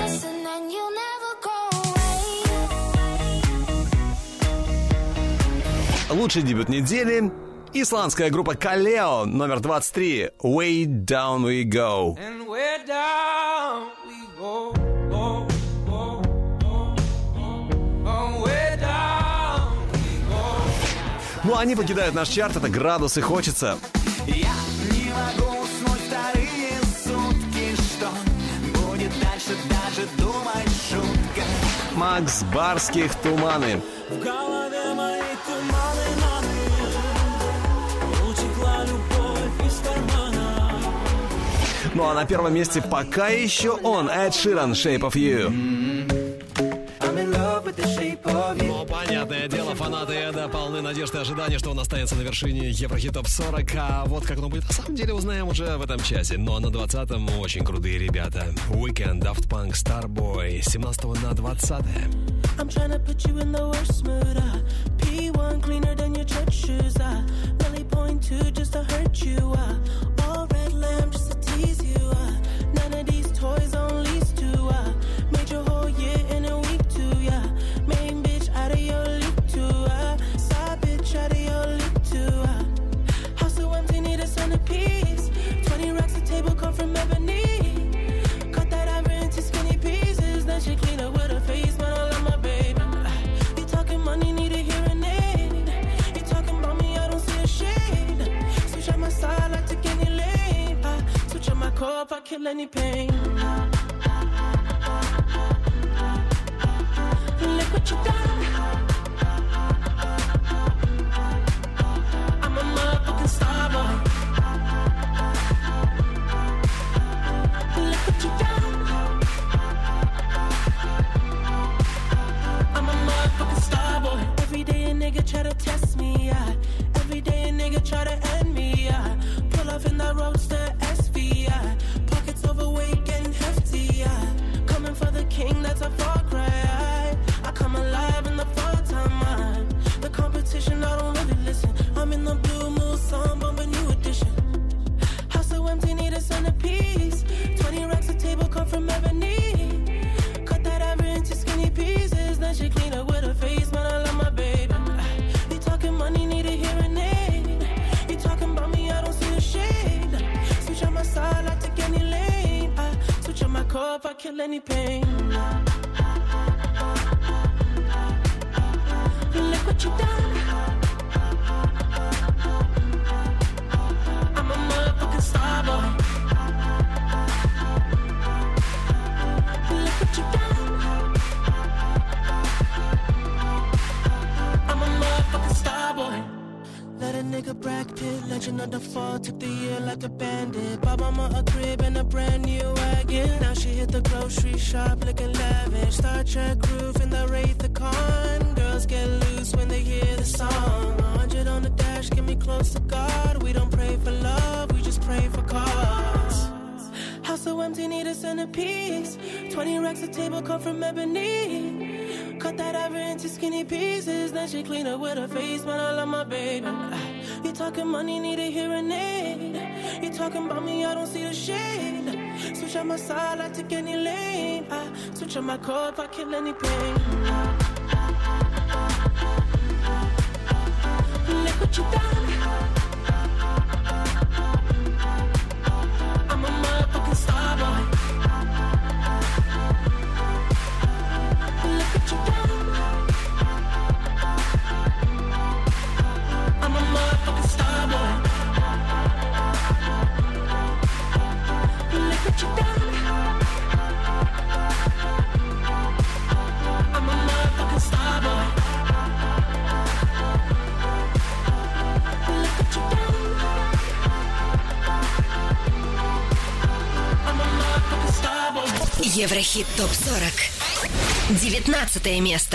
Лучший дебют недели. Исландская группа Kaleo, номер двадцать три, Way Down We Go. And way down we go, go, go, go, go. Way down we go. Ну, они покидают наш чарт, это градус и хочется. Я не могу уснуть вторые сутки, что будет дальше, даже думать шутка. Макс Барских, Туманы. В голове мои туманы, маны. Утекла любовь из кармана. Ну а на первом месте пока еще он, Эд Ширан, Shape of You. I'm in love with the shape of you. Ну, понятное дело, Фанаты Эда полны надежд и ожидания, что он останется на вершине Еврохит Топ сорок. А вот как оно будет на самом деле, узнаем уже в этом часе. Ну а на двадцатом очень крутые ребята. Weekend, Daft Punk, Starboy. С семнадцатого на двадцатое. I'm tryna put you in the worst mood. Uh. P one cleaner than your church shoes. Uh. Really point two just to hurt you. Uh. All red lamb just to tease you. Uh. None of these toys on lease to. Uh. Made your whole year in a week too. Yeah. Main bitch out of your league too. Uh. Side bitch out of your league too. Uh. House so empty, need a centerpiece. Twenty racks a table come from ebony. Cut that ivory into skinny pieces. Then she clean up with her face, man. I love my baby. You talking money, need a hearing aid. You talking about me, I don't see a shade. Switch on my side, I take any lane. I switch on my core if I kill any pain. Look what you done. I'm a motherfucking star boy. Look what you done. I'm a motherfucking star boy. Every day a nigga try to test me, yeah. Every day a nigga try to end me, yeah. Pull off in that roadster S V, yeah. Pockets overweight, getting hefty, yeah. Coming for the king, that's a far cry. I come alive in the fall time, man. The competition, I don't really listen. I'm in the blue moon, song, bumping new edition. House so empty, need a centerpiece. Twenty racks a table come from ebony. Cut that ivory into skinny pieces. Then she clean up with her face, man. I love my baby. You talking money, need a hearing aid. You talking about me, I don't see a shade. Switch on my side, I take any lane. I switch on my core if I kill any pain. Look what you done. I'm a motherfucking star boy. Look what you done. I'm a motherfucking star boy. Let a nigga Brad Pitt, legend of the fall, took the year like a bandit. Bought mama a crib and a brand new wagon. Now she hit the grocery shop looking lavish. Star Trek roof in the Wraith the Con. Girls get loose when they hear the song. A hundred on the dash, get me close to God. We don't pray for love, we just pray for cause. House so empty, need a centerpiece. Twenty racks a table come from ebony. Cut that ivory into skinny pieces. Then she clean up with her face, man. I love my baby. You talking money, need a hearing aid. You talking about me, I don't see the shade. Switch on my side, I take any lane. I switch on my core if I kill any pain. Look what you done. I'm a motherfucking star boy. Look what you done. I'm a motherfucking star boy. Look what you done. I'm a motherfucking star boy. Look what you done. I'm a motherfucking star boy. Еврохит Топ сорок. девятнадцатое место.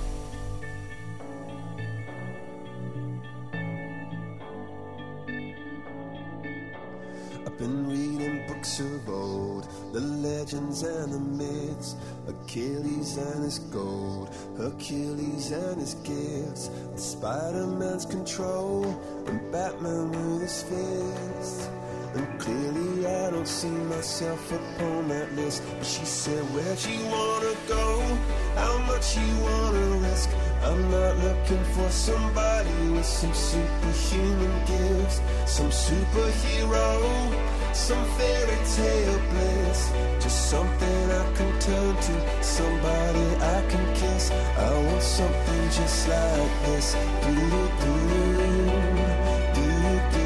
I've been reading books of old, the legends and the myths, Achilles and his gold, Hercules and his gifts, and Spider-Man's control, and Batman with his fists. And clearly I don't see myself upon that list. But she said, where'd you wanna go? How much you wanna risk? I'm not looking for somebody with some superhuman gifts, some superhero, some fairy tale bliss. Just something I can turn to, somebody I can kiss. I want something just like this. Do-do-do, do-do-do.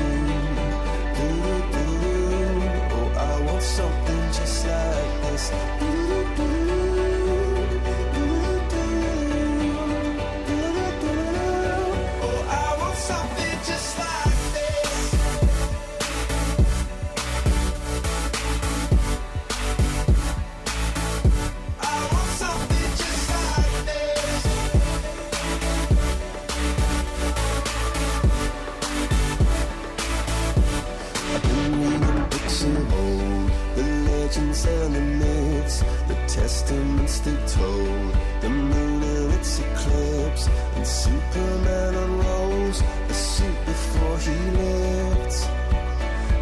Oh, I want something just like this. Oh, I want something just like this. I want something just like this.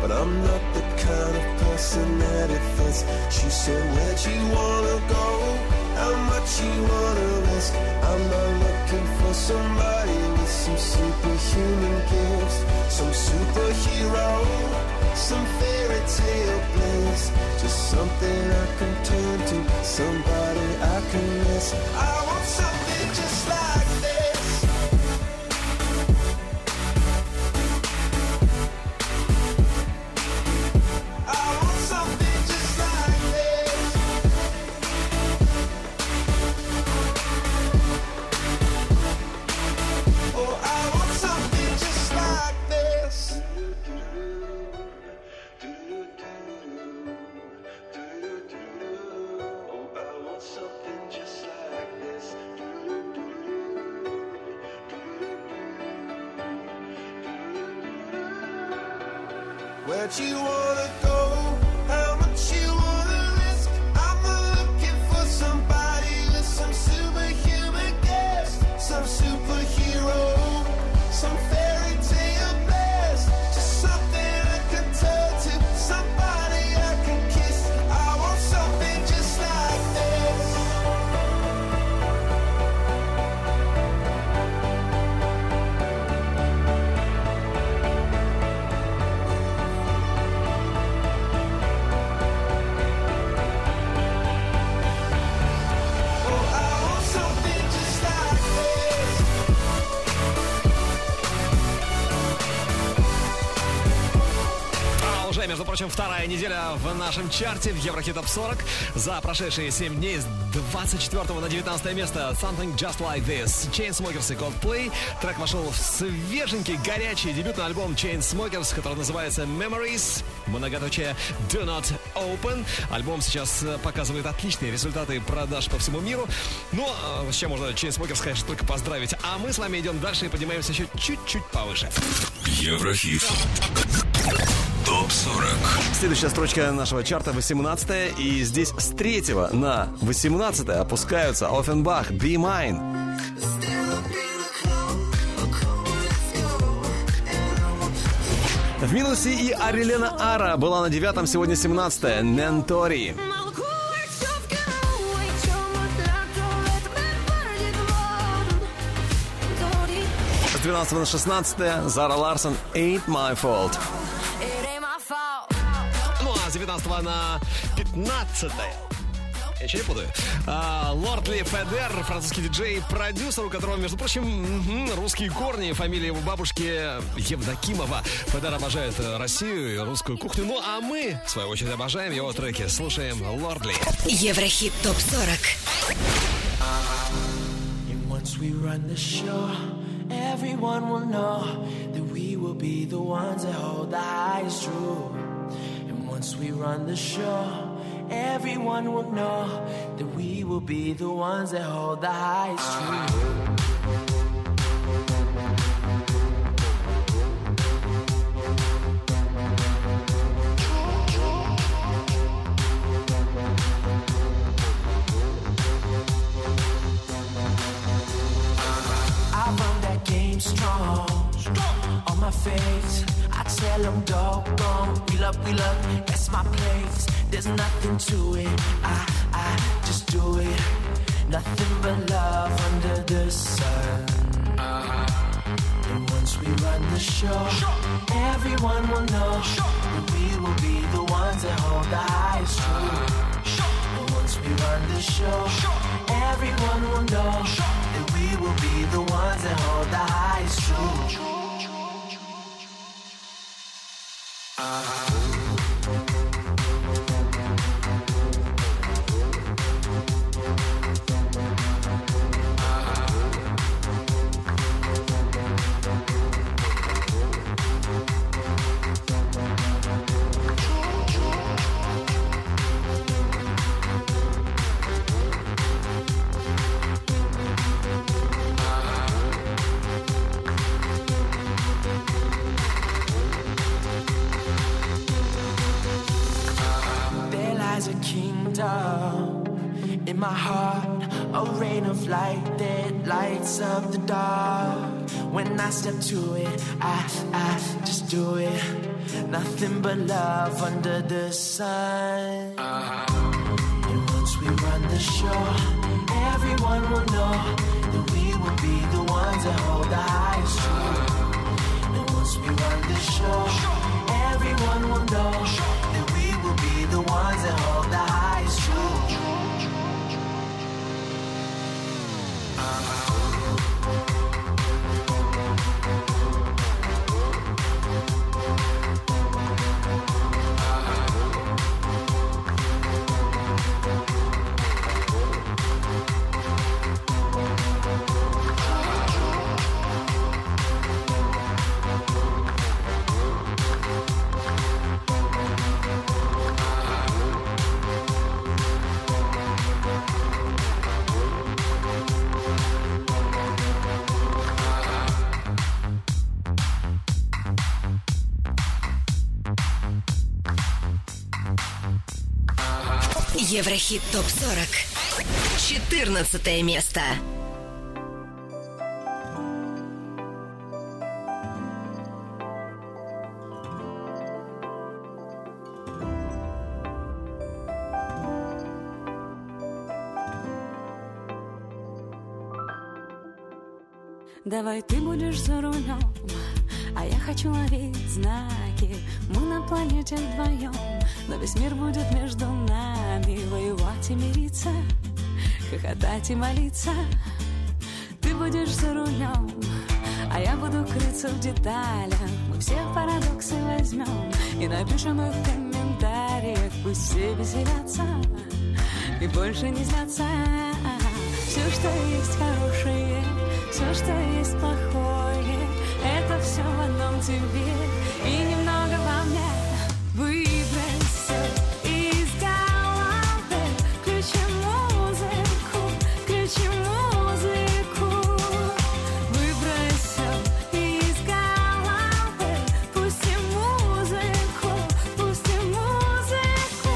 but I'm not the kind of person that it fits. She said, where'd you wanna go? How much you wanna risk? I'm not looking for somebody with some superhuman gifts, some superhero, some fairy tale bliss. Just something I can turn to, somebody I can miss. I want something just like this. I want something just like this. Oh, I want something just like this. Where'd you wanna go? How much you wanna risk? I'm not looking for somebody with some superhuman gifts, some superhero, some fairy tale bliss. Just something I can turn to, somebody I can kiss. I want something just like this. Между прочим, вторая неделя в нашем чарте в Еврохит Топ сорок. За прошедшие семь дней с двадцать четвёртого на девятнадцатое место Something Just Like This, Chainsmokers и Coldplay. Трек вошел в свеженький, горячий дебютный альбом Chainsmokers, который называется Memories, многоточие Do Not Open. Альбом сейчас показывает отличные результаты продаж по всему миру. Ну, с чем можно Chainsmokers, конечно, только поздравить. А мы с вами идем дальше и поднимаемся еще чуть-чуть повыше. Еврохит. Топ сорок. Следующая строчка нашего чарта восемнадцатая. И здесь с третьего на восемнадцатое опускаются Offenbach, Be Mine. В минусе и Арилена Ара была на девятом, сегодня семнадцатое. Нентори. С двенадцатого на шестнадцатое Зара Ларсон, Ain't My Fault. Ну а с девятнадцатого на пятнадцатое. Я ничего не путаю. А, Лордли Федер, французский диджей, продюсер, у которого, между прочим, угу, русские корни, фамилия его бабушки Евдокимова. Федер обожает Россию и русскую кухню. Ну а мы, в свою очередь, обожаем его треки. Слушаем Лордли. Еврохит Топ сорок. Once we run the show, everyone will know that we will be the ones that hold the highest truth. And once we run the show, everyone will know that we will be the ones that hold the highest truth. I run that game strong, on my face. I tell them doggone, wheel up, wheel up, that's my place. There's nothing to it, I, I just do it. Nothing but love under the sun. And once we run the show, everyone will know that we will be the ones that hold the highest truth. And once we run the show, everyone will know that we will be the ones that hold the highest truth. In my heart, A rain of light that lights up the dark. When I step to it, I, I just do it. Nothing but love under the sun. And once we run the show, everyone will know that we will be the ones that hold the highest truth. And once we run the show, everyone will know that we will be the ones that hold the highest truth. Еврохит топ сорок. четырнадцатое место. Давай ты будешь за рулем, а я хочу ловить знаки. Мы на планете вдвоем, но весь мир будет между нами. Воевать и мириться, хохотать и молиться. Ты будешь за рулем, а я буду крыться в деталях. Мы все парадоксы возьмем и напишем их в комментариях. Пусть все веселятся и больше не злятся. Все, что есть хорошее, все, что есть плохое, это все в одном тебе и немного во мне. Выбросься из головы, включи музыку, включи музыку. Выбросься из головы, пусти музыку, пусти музыку.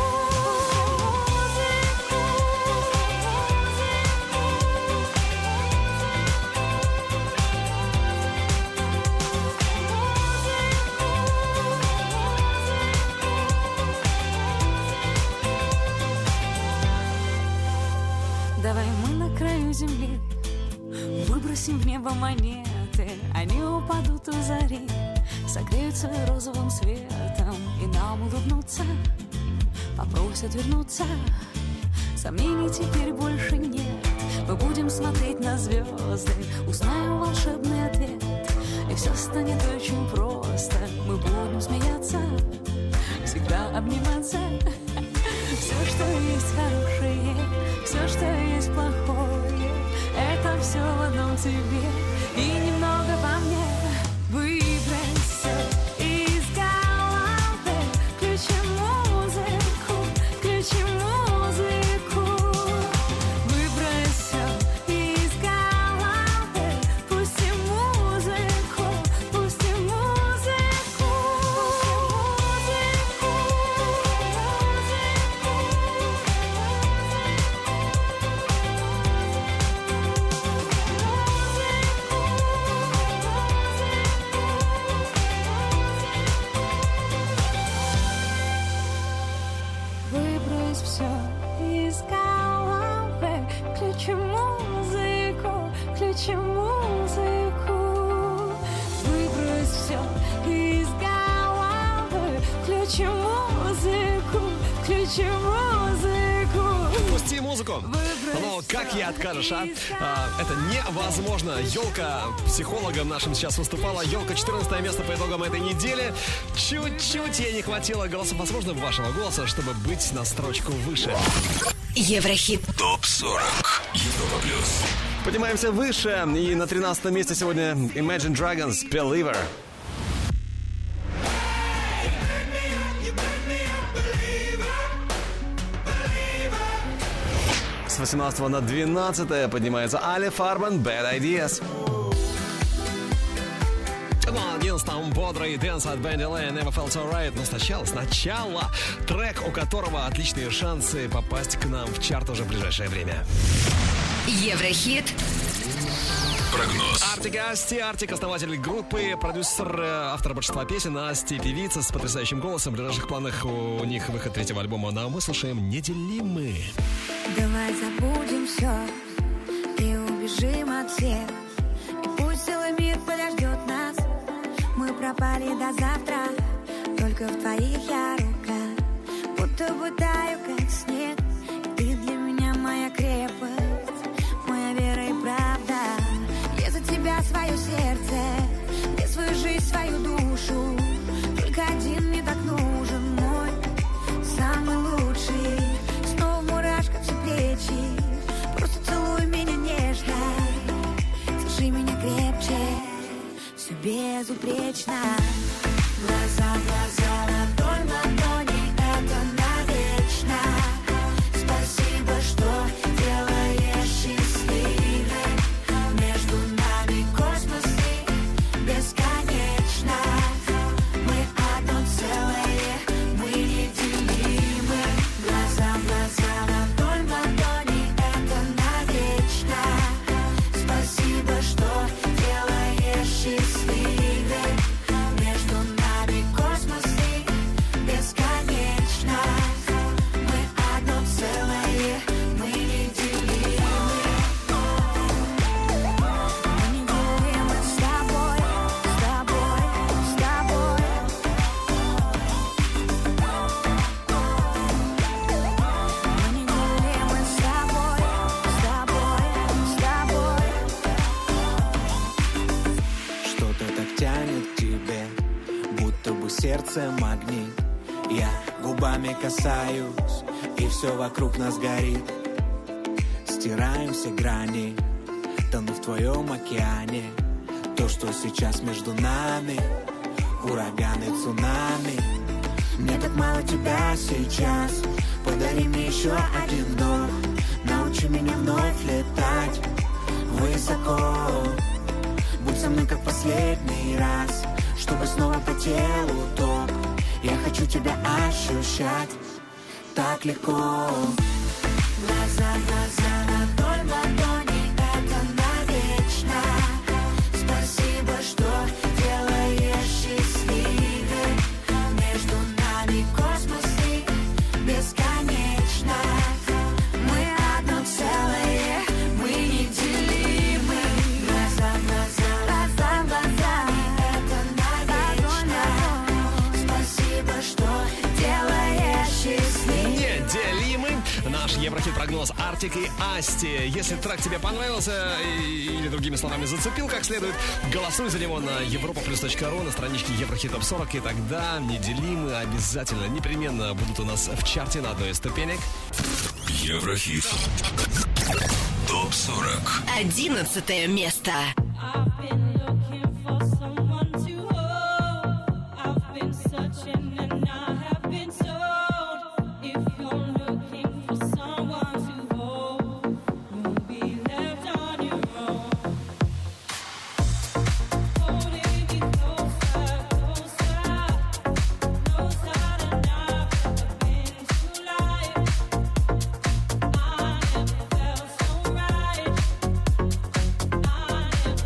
Давай мы на краю земли выбросим в небо монеты. Они упадут у зари, согреются розовым светом и нам улыбнутся, попросят вернуться. Сомнений теперь больше нет. Мы будем смотреть на звезды, узнаем волшебный ответ, и все станет очень просто. Мы будем смеяться, всегда обниматься. Все, что есть хорошее, все, что есть плохое, это все в одном тебе и немного во мне. Выбросься из головы, включи музыку, включи музыку. Выбросься из головы, пусти музыку, пусти музыку. Выбрось все из головы, включи музыку, включи музыку. Выбрось все из головы, включи музыку, включи музыку. Пусти музыку. Но как ей откажешь, а? а? Это невозможно. Елка психологом нашим сейчас выступала. Елка, четырнадцатое место по итогам этой недели. Чуть-чуть ей не хватило голоса, возможно, вашего голоса, чтобы быть на строчку выше. Еврохит топ сорок. Европа плюс. Поднимаемся выше. И на тринадцатом месте сегодня Imagine Dragons Believer. С восемнадцатого на двенадцатое поднимается Али Фарман Bad Ideas. На одиннадцатом бодрый дэнс от Бенди Лэй Never Felt So Right. Но сначала, сначала трек, у которого отличные шансы попасть к нам в чарт уже в ближайшее время. Еврохит. Прогноз. Артик и Асти. Артик — основатель группы, продюсер, э, автор большинства песен. Асти — певица с потрясающим голосом. В ближайших планах у них выход третьего альбома. Ну а мы слушаем «Неделимы». Давай забудем все и убежим от всех. И пусть целый мир подождет нас. Мы пропали до завтра, только в твоих я рука. Будто бы таю, как снег. И ты для меня моя крепость, моя вера и правда. Я за тебя свое сердце, я свою жизнь, свою душу. Только один мне так нужен, мой самый лучший. Снова мурашка все плечи, просто целуй меня нежно. Держи меня крепче, все безупречно. Глаза, глаза, ладонь, ладони, это навечно. Спасибо, что делаешь счастливой. Между нами космос и бесконечно. Мы одно целое, мы неделимы. Глаза, глаза, ладонь, ладони, это навечно. Спасибо, что делаешь счастливой. Между нами космос и бесконечно. Мы одно целое, мы неделимы. Мы неделимы с тобой, с тобой, с тобой. Мы неделимы с тобой, с тобой, с тобой. Что-то так тянет к тебе, будто бы сердце магнит. Я губами касаюсь, и все вокруг нас горит. Стираем все грани, тону в твоем океане. То, что сейчас между нами, ураганы, цунами. Мне так мало тебя сейчас, подари мне еще один вдох. Научи меня вновь летать высоко. Будь со мной как последний раз, чтобы снова по телу ток. Я хочу тебя ощущать так легко. Глаза, глаза, ладонь, ладони, это навечно. Спасибо, что делаешь счастливой. Между нами космос и бесконечно. Мы одно целое, мы неделимы. Глаза, глаза, глаза, глаза, это навечно. Спасибо, что делаешь счастливой. Неделимы. Наш Еврохит-прогноз Артик и Асти. Если трек тебе понравился или, другими словами, зацепил как следует, голосуй за него на европа плюс точка ру, на страничке Еврохит топ сорок, и тогда «Неделимы» обязательно, непременно будут у нас в чарте на одной из ступенек. Еврохит. топ сорок. Одиннадцатое место. I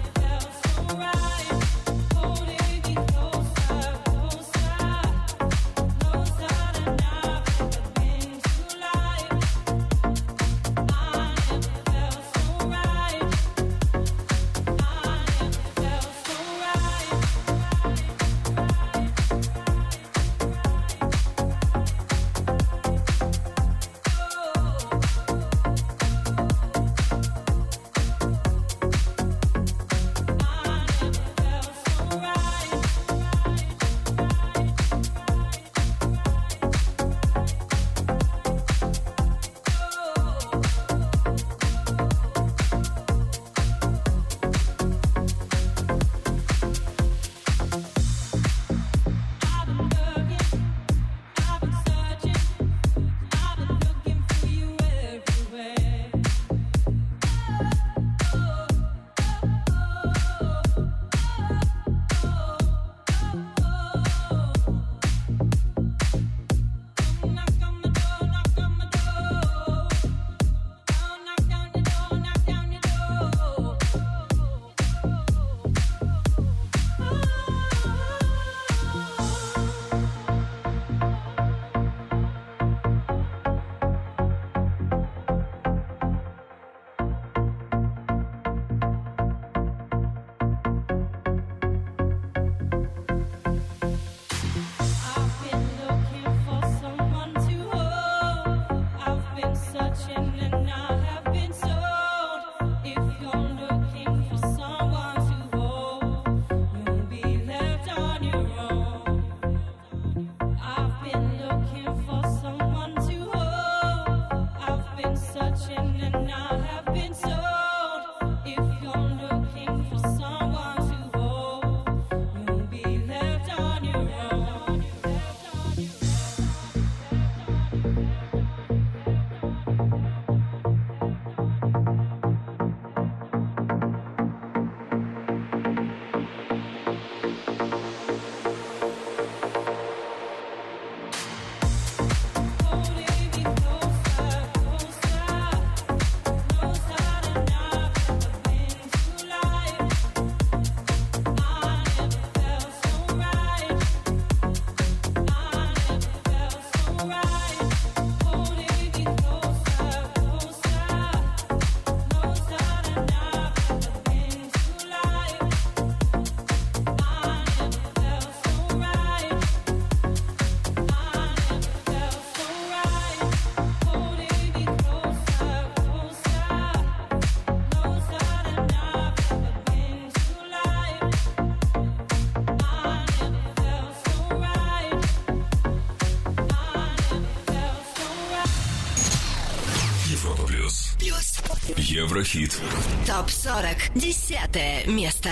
Еврохит. ТОП сорок. Десятое место.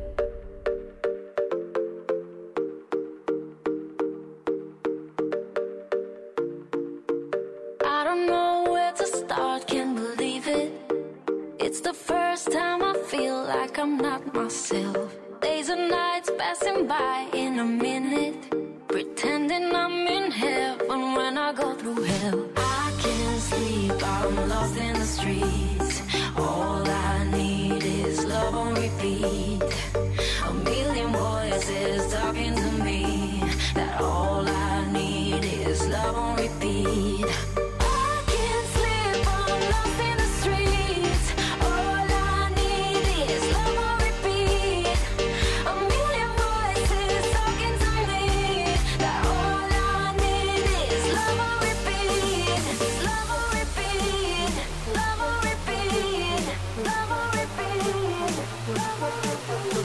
I don't know where to start, can't believe it. It's the first time I feel like I'm not myself. Days and nights passing by in a minute, pretending I'm in heaven when I go through hell. I can't sleep, I'm lost in the streets. All I need is love on repeat. A million voices talking to me, that all I need is love on repeat. I can't sleep, I'm lost in the streets. All I need is love on repeat. A million voices talking to me, that all I need is love on repeat. Love on repeat, love on repeat, love on repeat, love on repeat.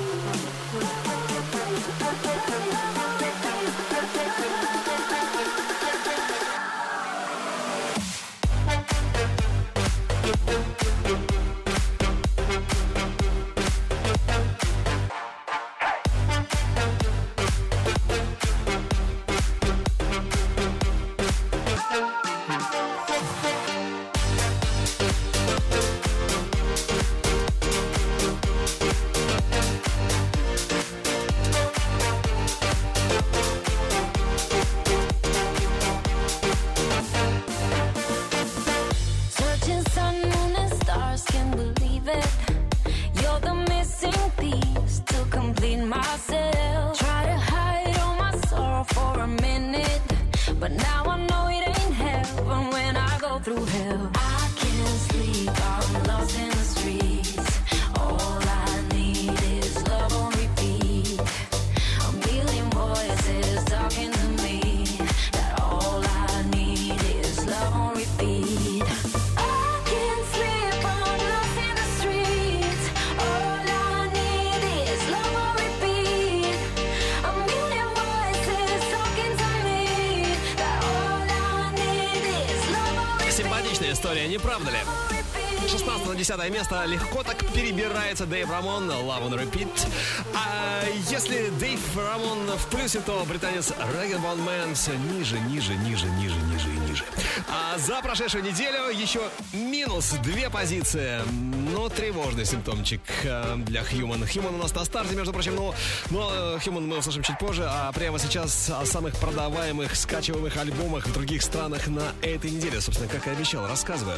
Searching sun, moon, and stars, can't believe it. You're the missing piece to complete myself. Try to hide all my sorrow for a minute, but now I know it ain't heaven when I go through hell. I can't sleep, I'm lost in the streets. All I need is love on repeat. A million voices talking to me, that all I need is love on repeat. I can't sleep, I'm lost in the streets. All I need is love on repeat. A million voices talking to me, that all I need is love on repeat. Симпатичная история, не правда ли? шестнадцатое на десятое место легко так перебирается Дэйв Рамон, Love on Repeat. А если Дэйв Рамон в плюсе, то британец Rag and Bone Man все ниже, ниже, ниже, ниже, ниже и ниже. А за прошедшую неделю еще минус две позиции. Ну, тревожный симптомчик для Human. Human у нас на старте, между прочим, но, но Human мы услышим чуть позже. А прямо сейчас о самых продаваемых, скачиваемых альбомах в других странах на этой неделе. Собственно, как и обещал, рассказываю.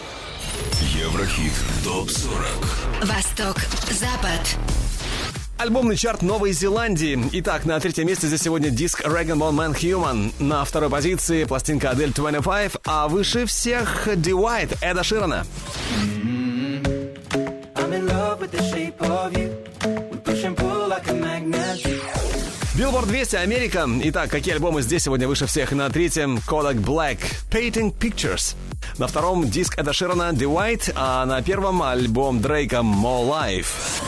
Еврохит ТОП сорок. Восток, Запад. Альбомный чарт Новой Зеландии. Итак, на третьем месте здесь сегодня диск Rag and Bone Man Human. На второй позиции пластинка Адель двадцать пять, а выше всех The White Эда Ширана. Billboard двести Америка. Итак, какие альбомы здесь сегодня выше всех? На третьем Kodak Black Painting Pictures. На втором диск Эда Ширана The White, а на первом альбом Дрейка More Life.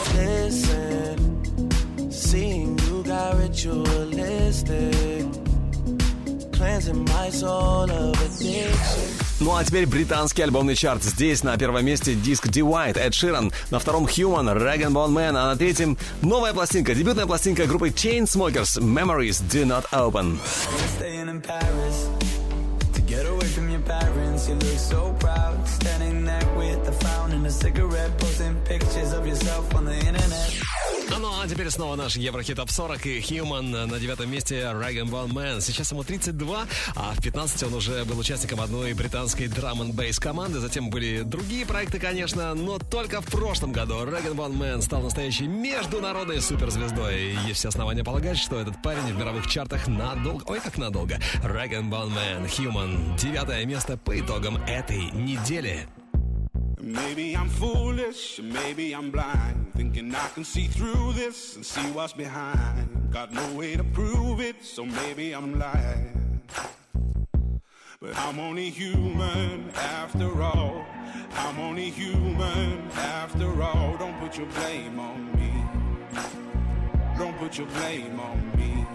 Seeing you got ritualistic, cleansing my soul of addiction. Ну а теперь британский альбомный чарт. Здесь на первом месте диск The White, Эд Ширан. На втором Human, Rag and Bone Man. А на третьем новая пластинка, дебютная пластинка группы Chainsmokers, Memories Do Not Open. Staying in Paris to get away from your parents. You look so proud, standing there with a frown and a cigarette, posting pictures of yourself on the internet. Ну а теперь снова наш Еврохит Топ сорок и Human на девятом месте Rag and Bone Man. Сейчас ему тридцать два, а в пятнадцати он уже был участником одной британской драм-н-бейс команды. Затем были другие проекты, конечно, но только в прошлом году Rag and Bone Man стал настоящей международной суперзвездой. И есть все основания полагать, что этот парень в мировых чартах надолго, ой, как надолго. Rag and Bone Man, Human. Девятое место по итогам этой недели. Maybe I'm foolish, maybe I'm blind, thinking I can see through this and see what's behind. Got no way to prove it, so maybe I'm lying. But I'm only human after all. I'm only human after all. Don't put your blame on me. Don't put your blame on me.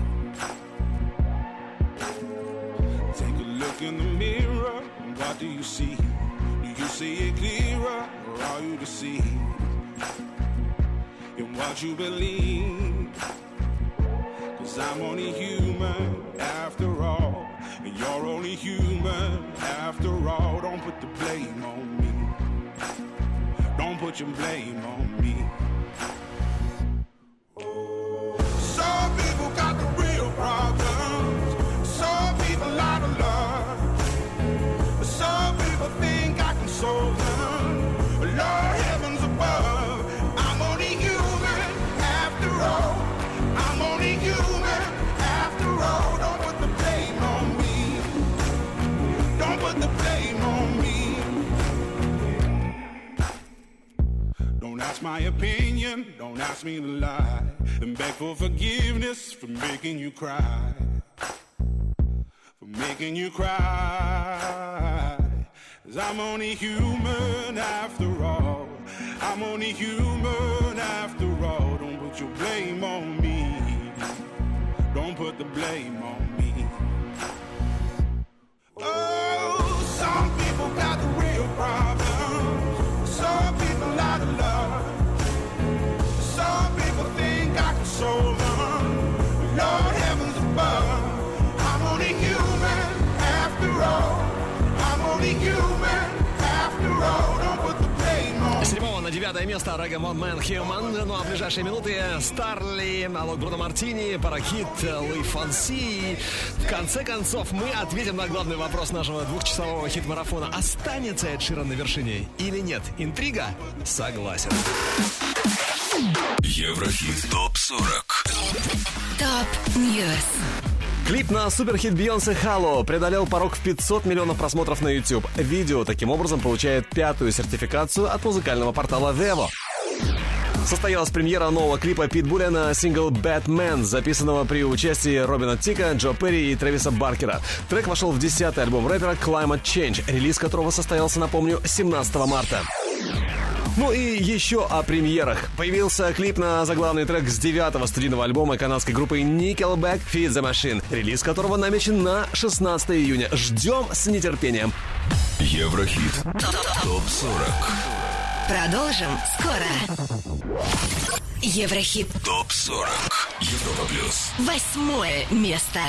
Take a look in the mirror, what do you see? Do you see it clearer, or are you deceived in what you believe? Cause I'm only human after all, and you're only human after all. Don't put the blame on me. Don't put your blame on me. Some people got the real problems. Some people out of love. Some people think I can solve them. Lord heavens above, I'm only human after all. I'm only human after all. Don't put the blame on me. Don't put the blame on me. Don't ask my opinion, don't ask me to lie, and beg for forgiveness for making you cry, for making you cry. Cause I'm only human after all. I'm only human after all. Don't put your blame on me. Don't put the blame on me. Oh, some people got the real problems. Some people out of love. Some people think I can solve them. Lord heavens above, I'm only human after all. I'm only human after all. Don't put the blame on me. С седьмого на девятое место Reggae Man Human. Ну а в ближайшие минуты Старли, Алок Бруно Мартини, Паракит, Луи Фонси. В конце концов, мы ответим на главный вопрос нашего двухчасового хит-марафона. Останется Эд Ширан на вершине или нет? Интрига? Согласен. Еврохит топ сорок. Топ Ньюс. Клип на суперхит Бейонсе «Hello» преодолел порог в пятьсот миллионов просмотров на YouTube. Видео таким образом получает пятую сертификацию от музыкального портала Vevo. Состоялась премьера нового клипа Питбуля на сингл «Batman», записанного при участии Робина Тика, Джо Перри и Трэвиса Баркера. Трек вошел в десятый альбом рэпера Climate Change, релиз которого состоялся, напомню, семнадцатого марта. Ну и еще о премьерах. Появился клип на заглавный трек с девятого студийного альбома канадской группы Nickelback «Feed the Machine», релиз которого намечен на шестнадцатого июня. Ждем с нетерпением. Еврохит топ сорок. Продолжим скоро. Еврохит топ сорок. Европа плюс. Восьмое место.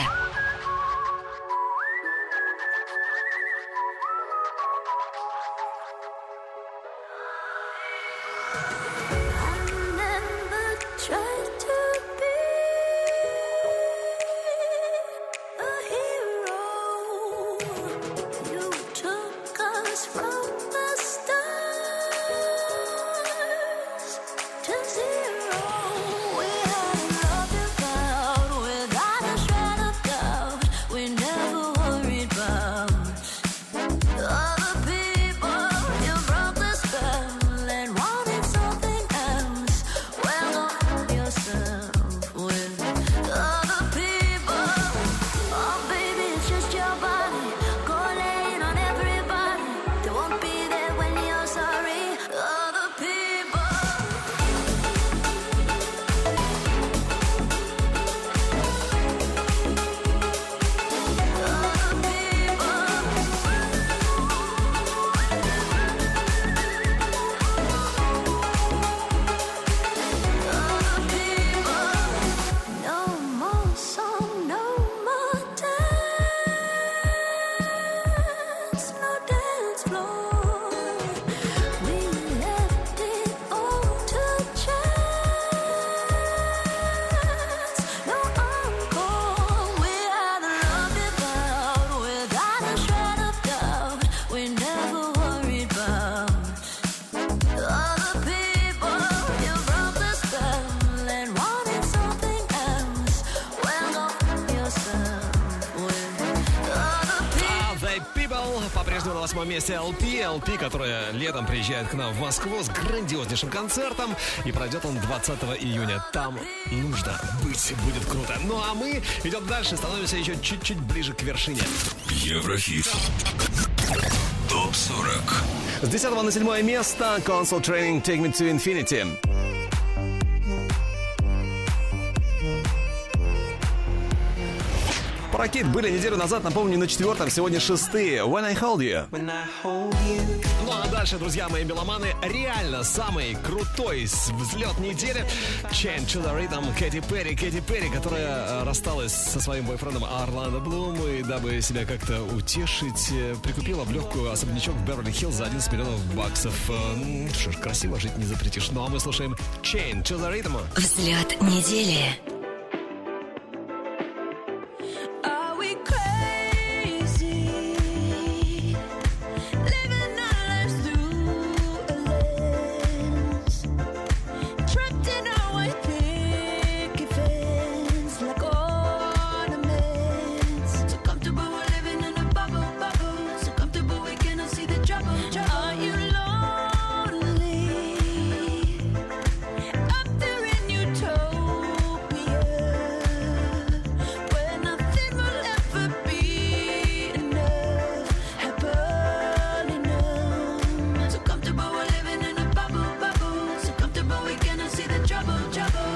По-прежнему на восьмом месте эл пи. эл пи, которая летом приезжает к нам в Москву с грандиознейшим концертом. И пройдет он двадцатого июня. Там нужно быть, будет круто. Ну а мы идем дальше, становимся еще чуть-чуть ближе к вершине. Еврохит топ сорок. С десятого на седьмое место Console Training Take Me to Infinity. Паракит были неделю назад, напомню, на четвертом, сегодня шестые. When I Hold You. Ну а дальше, друзья мои меломаны, реально самый крутой взлет недели. Change to the Rhythm, Кэти Перри. Кэти Перри, которая рассталась со своим бойфрендом Орландо Блум, и дабы себя как-то утешить, прикупила в легкую особнячок в Беверли-Хиллз за одиннадцать миллионов баксов. Ну что ж, красиво жить не запретишь. Ну а мы слушаем Change to the Rhythm. Взлет недели. Are we crazy? Living our lives through a lens. Trapped in our white picket fence like ornaments. So comfortable we're living in a bubble, bubble. So comfortable we cannot see the trouble, trouble. Are you lonely? Up there in Utopia, where nothing will ever be enough, happily numb. So comfortable we're living in a bubble, bubble. So comfortable we cannot see the trouble, trouble.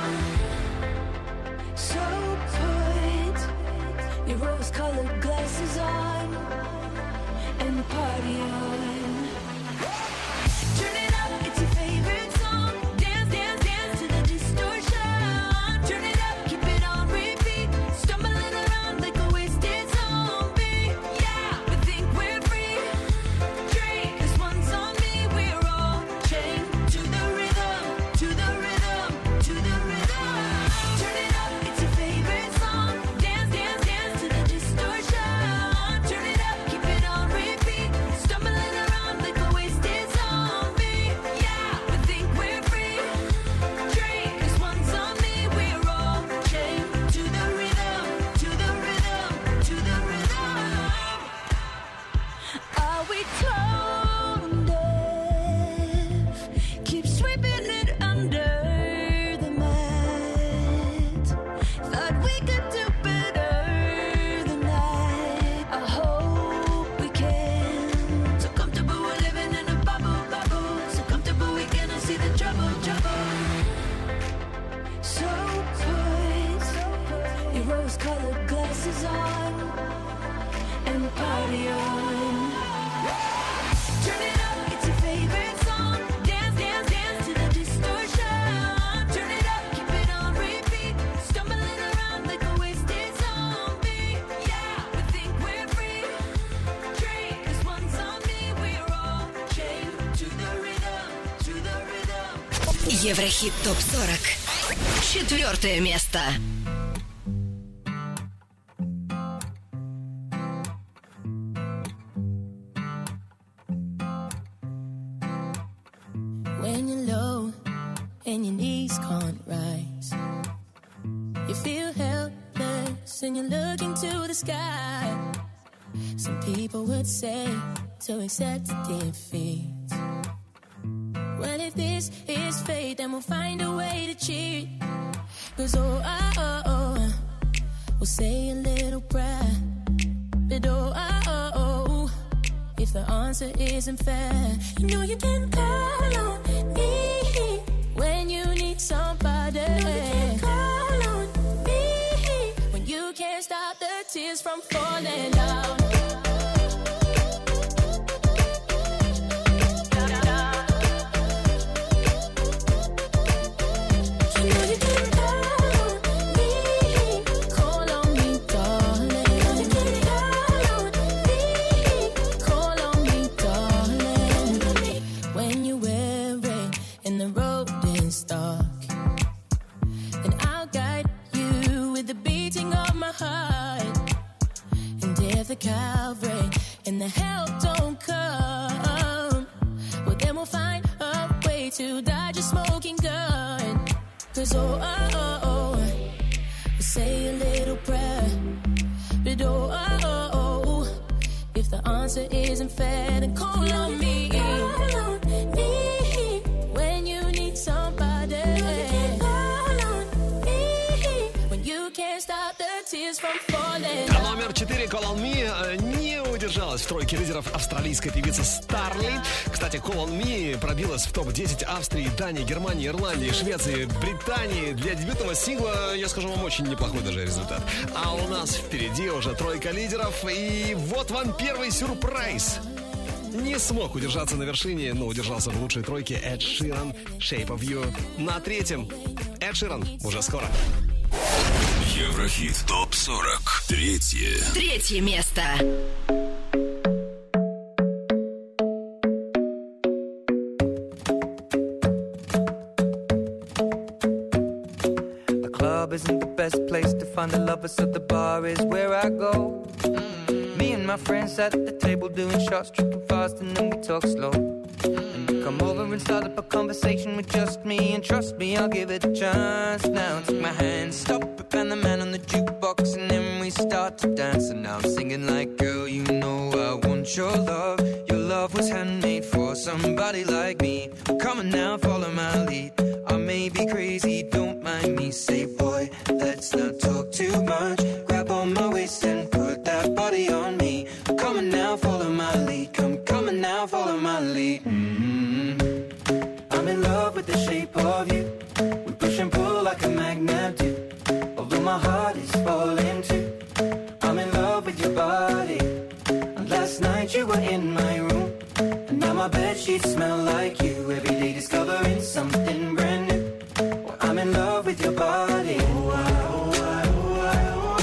So put your rose-colored glasses on and party on. Turn it up, it's your favorite song. Dance, dance, dance to the distortion. Turn it up, keep it on repeat. Stumbling around like a wasted zombie. Yeah, we think we're free. Drink, 'cause one's on me. We're all chained to the rhythm, to the rhythm, to the rhythm. Turn it up, it's your favorite song. Dance, dance, dance to the distortion. Turn it up, keep it on repeat. Stumbling around like a wasted zombie. Yeah, we think we're free. Drink, 'cause one's on me. We're all chained to the rhythm, to the rhythm, to the rhythm. Are we tone deaf? Keep sweeping it under the mat. Thought we could do better than that. I hope we can. So comfortable we're living in a bubble, bubble. So comfortable we cannot see the trouble, trouble. So put your rose-colored glasses on and party on. Turn it up, it's your favorite song. Dance, dance, dance to the distortion. Turn it up, keep it on repeat. Stumbling around like a wasted zombie. Yeah, we think we're free. Drink, 'cause one's on me. We're all chained to the rhythm, to the rhythm. Еврохит топ сорок. Четвертое место. When you're low and your knees can't rise, you feel helpless and you're looking to the sky. Some people would say to accept defeat. Well, if this is fate, then we'll find a way to cheat. 'Cause oh, oh, oh, oh, we'll say a little prayer. But oh, oh, oh, oh, if the answer isn't fair, you know you can call on me when you need somebody. You know you can call on me when you can't stop the tears from falling down. You know you can call on me, call on me, darling. You can call on me, call on me, darling. When you're weary and the road is dark, then I'll guide you with the beating of my heart. And if the Calvary and the help don't come, well then we'll find a way to dodge a smoking gun. 'Cause oh, oh, oh, oh, we'll say a little prayer. But oh, oh, oh, oh, if the answer isn't fair, then call on me. Call on me when you need somebody. You can call on me when you can't stop the tears tears from falling. А номер четыре Call on Me э, не удержалась в тройке лидеров австралийская певица Старли. Кстати, Call on Me пробилась в топ десять Австрии, Дании, Германии, Ирландии, Швеции, Британии. Для дебютного сингла, я скажу вам, очень неплохой даже результат. А у нас впереди уже тройка лидеров. И вот вам первый сюрприз. Не смог удержаться на вершине, но удержался в лучшей тройке Эд Ширан, Shape of You. На третьем Эд Ширан уже скоро. Еврохит топ сорок. Третье. Третье место. The club isn't the best place to find the lovers, so the bar is where I go. Me and my friends at the table doing shots, tripping fast, and then we talk slow. And you come over and start up a conversation with just me, and trust me, I'll give it a chance. Now take my hand, stop it, and the man on the jukebox, and then we start to dance. And now I'm singing like, girl, you know I want your love. Your love was handmade for somebody like me. Come on now, follow my lead. I may be crazy, don't mind me. Say, boy, let's not talk too much. Grab on my waist and put that body on me. Come on now, follow my lead. Come, come on now, follow my lead. Mm-hmm. I'm in love with the shape of you. We push and pull like a magnet do. Although my heart is falling too. I'm in love with your body. And last night you were in my room. And now my bedsheets smell like you. Every day discovering something brand new. Well, I'm in love with your body. Oh, I, oh, I, oh, I, oh,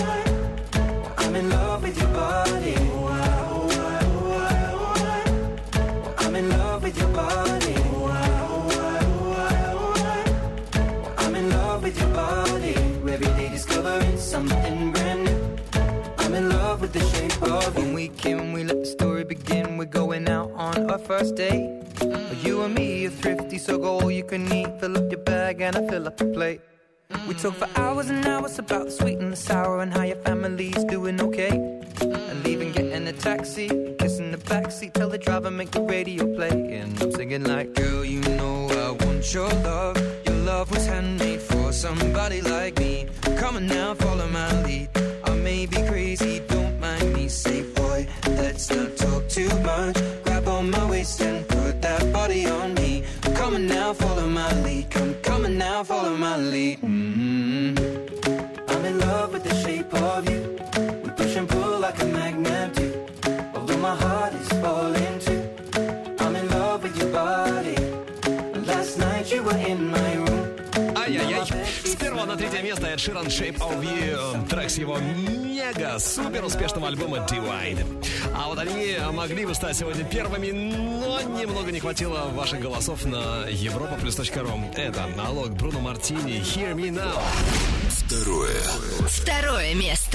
I. I'm in love with your body. Oh, I, oh, I, oh, I, oh, I. I'm in love with your body. Oh, I, oh, I, oh, I, oh, I. I'm in love with your body. Every day discovering something brand new. I'm in love with the shape of you. When we came, we let the story begin. We're going out on our first date. You and me are thrifty, so go all you can eat. Fill up your bag and I fill up the plate. We talk for hours and hours about the sweet and the sour and how your family's doing okay. And leaving, getting a taxi, kissing the backseat, tell the driver make the radio play. And I'm singing like, girl, you know I want your love. Your love was handmade for somebody like me. Come on now, follow my lead. I may be crazy, don't mind me. Say, boy, let's not talk too much. Grab on my waist and put that body on me. Come on now, follow my lead. Come, come on now, follow my lead. Mm-hmm. I'm in love with the shape of you. We push and pull like a magnet do. Although my heart is falling too. I'm in love with your body. And last night you were in my room. Ай-яй-яй. С первого на третье место Эд Ширан, Shape of You. Трек с его мега-супер успешного альбома Divide. А вот они могли бы стать сегодня первыми, но немного не хватило ваших голосов на европа плюс точка ру. Это налог Бруно Мартини, Hear Me Now. Второе. Второе место.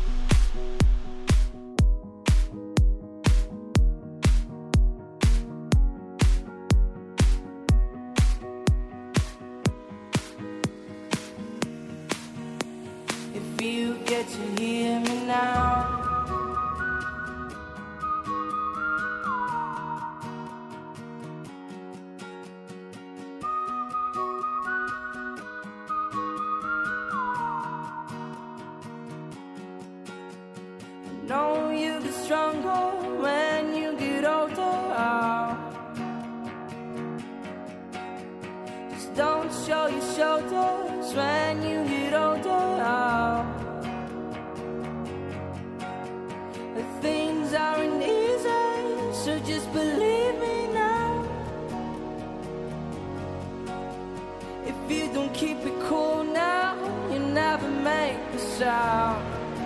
If you get to hear me now, I know you get stronger when you get older. Just don't show your shoulders when you get older. The things aren't easy, so just believe me now. If you don't keep it cool now, you never make a sound.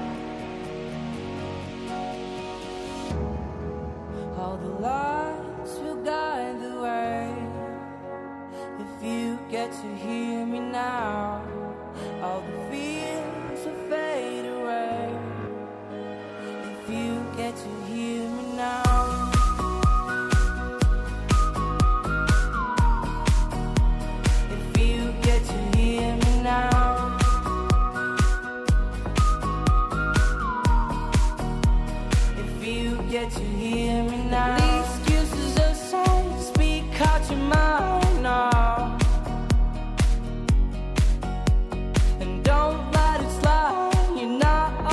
All the lights will guide the way. If you get to hear me now, all the fears will fade away. If you get to hear me now, if you get to hear me now, if you get to hear me now, the excuses aside, speak out your mind now, and don't let it slide. You're not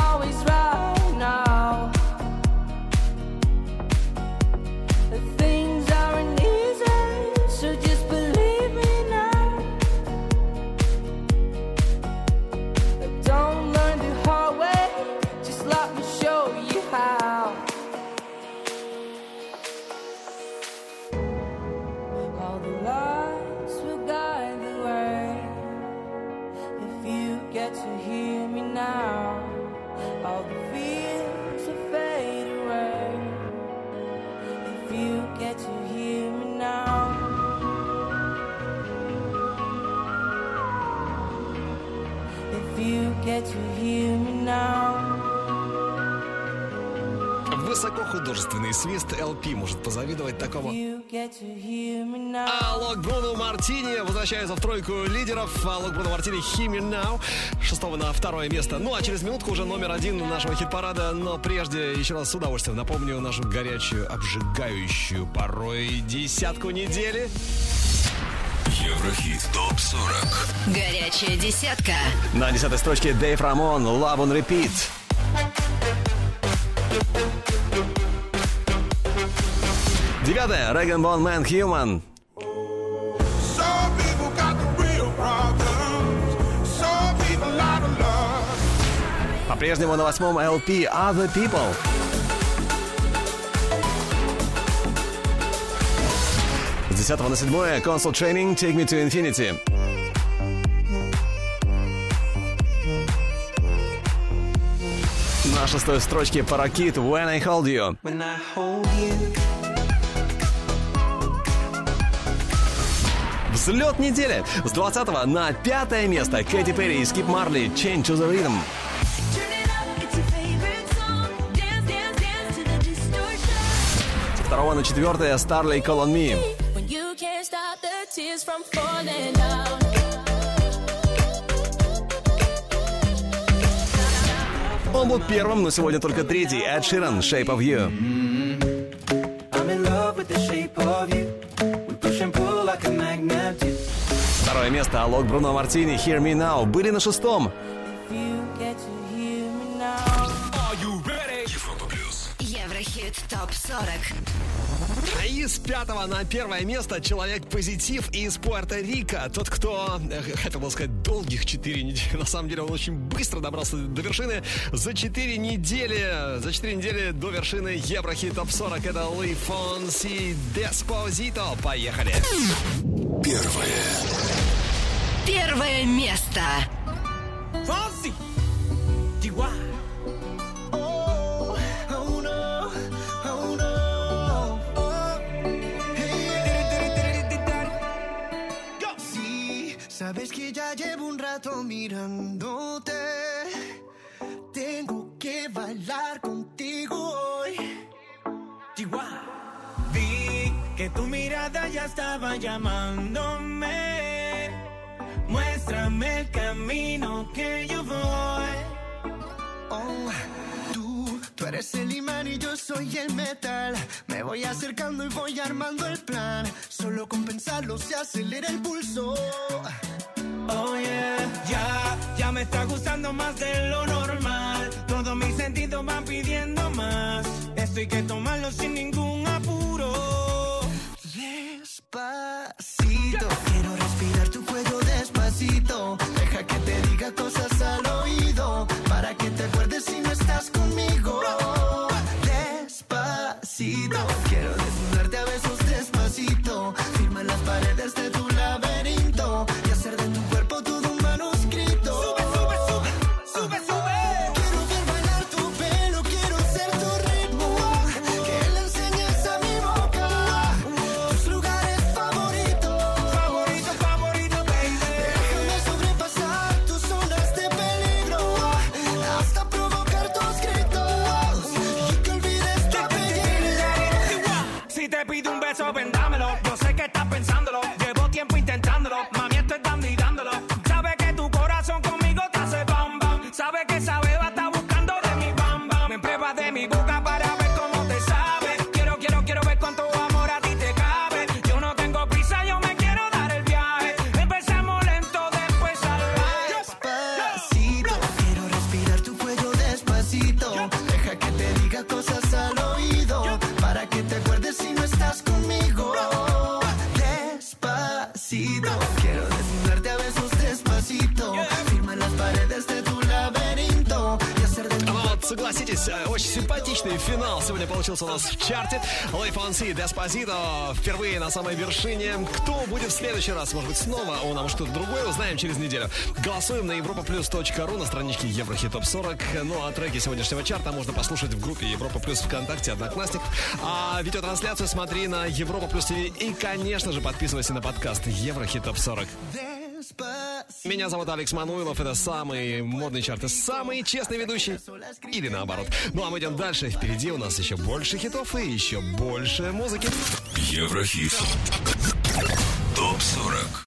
высокохудожественный свист. эл пи может позавидовать такому. Алок Бруно Мартини возвращается в тройку лидеров. Алок Бруно Мартини «Hear Me Now». Шестого на второе место. Ну а через минутку уже номер один нашего хит-парада. Но прежде еще раз с удовольствием напомню нашу горячую, обжигающую порой десятку недели. Еврохит топ сорок. Горячая десятка. На десятой строчке Дэйв Рамон «Love on Repeat». Девятая Реган Бон Мэн «Human». Some people got the real problems. Some people out of love. По-прежнему на восьмом эл пи «Other People». С десятого на седьмое Console Training «Take Me to Infinity». На шестой строчке Паракит «When I Hold You». When I hold you. Взлет недели. С двадцатого на пятое место Кэти Перри и Скип Марли «Change to the Rhythm». Со второго на четвертое Starley «Call on Me». Он был первым, но сегодня только третий. Эд Ширан «Shape of You». I'm in love with the shape of you. We push and pull like a magnet do. Второе место Алок Бруно Мартини «Hear Me Now» были на шестом. Еврохит топ сорок. И с пятого на первое место человек-позитив из Пуэрто-Рико. Тот, кто, хотел бы сказать, долгих четыре недели. На самом деле он очень быстро добрался до вершины. За четыре недели, за четыре недели до вершины Еврохит топ сорок. Это Луи Фонси «Деспозито». Поехали. Первое. Первое место. Fonsi. Chihuahua. Sabes que ya llevo un rato mirándote. Tengo que bailar contigo hoy. Chihuahua. Vi que tu mirada ya estaba llamándome. Muéstrame el camino que yo voy. Oh, tú, tú eres el imán y yo soy el metal. Me voy acercando y voy armando el plan. Solo con pensarlo se acelera el pulso. Oh yeah, ya, ya me está gustando más de lo normal. Todos mis sentidos van pidiendo más. Esto hay que tomarlo sin ningún apuro. Despacito, quiero respirar tu cuello despacito. Deja que te diga cosas al oído, para que te acuerdes si no estás conmigo. Despacito, quiero desnudarte a besos despacito. Firma las paredes de tu laberinto y hacer de tu cuerpo todo un manuscrito. Sube, sube, sube, sube, sube. Quiero ver bailar tu pelo, quiero ser tu ritmo. Que le enseñes a mi boca tus lugares favoritos. Favorito, favorito, baby. Déjame sobrepasar tus zonas de peligro hasta provocar tus gritos y que olvides tu apellido. Si te pido un beso, vendámelo. Yo sé que estás pensándolo. Llevo tiempo intentándolo. Mami, esto es dando y dándolo. Sabe que tu corazón conmigo te hace bam bam. Sabe que esa beba está buscando de mi bam bam. Me pruebas de mi boca para ver cómo te sabe. Quiero, quiero, quiero ver cuánto amor a ti te cabe. Yo no tengo prisa, yo me quiero dar el viaje. Empezamos lento, después salvaje. Despacito, quiero respirar tu cuello despacito. Deja que te diga cosas al oído, para que te acuerdes si no estás conmigo. Despacito, quiero desnudarte a besos despacito. Firma las paredes de tu laberinto y hacer de tu Вот, согласитесь, очень симпатичный финал сегодня получился у нас в чарте. Луи Фонси «Деспозито» впервые на самой вершине. Кто будет в следующий раз? Может быть, снова он, а может, что-то другое, узнаем через неделю. Голосуем на европа плюс точка ру на страничке Еврохит топ сорок. Ну, а треки сегодняшнего чарта можно послушать в группе Европа Плюс ВКонтакте, Одноклассник. А видеотрансляцию смотри на Европа Плюс ТВ. И, конечно же, подписывайся на подкаст Еврохит топ сорок. Despacito. Меня зовут Алекс Мануилов. Это самый модный чарт и самый честный ведущий. Или наоборот. Ну а мы идем дальше. Впереди у нас еще больше хитов и еще больше музыки. Еврохит. Топ сорок.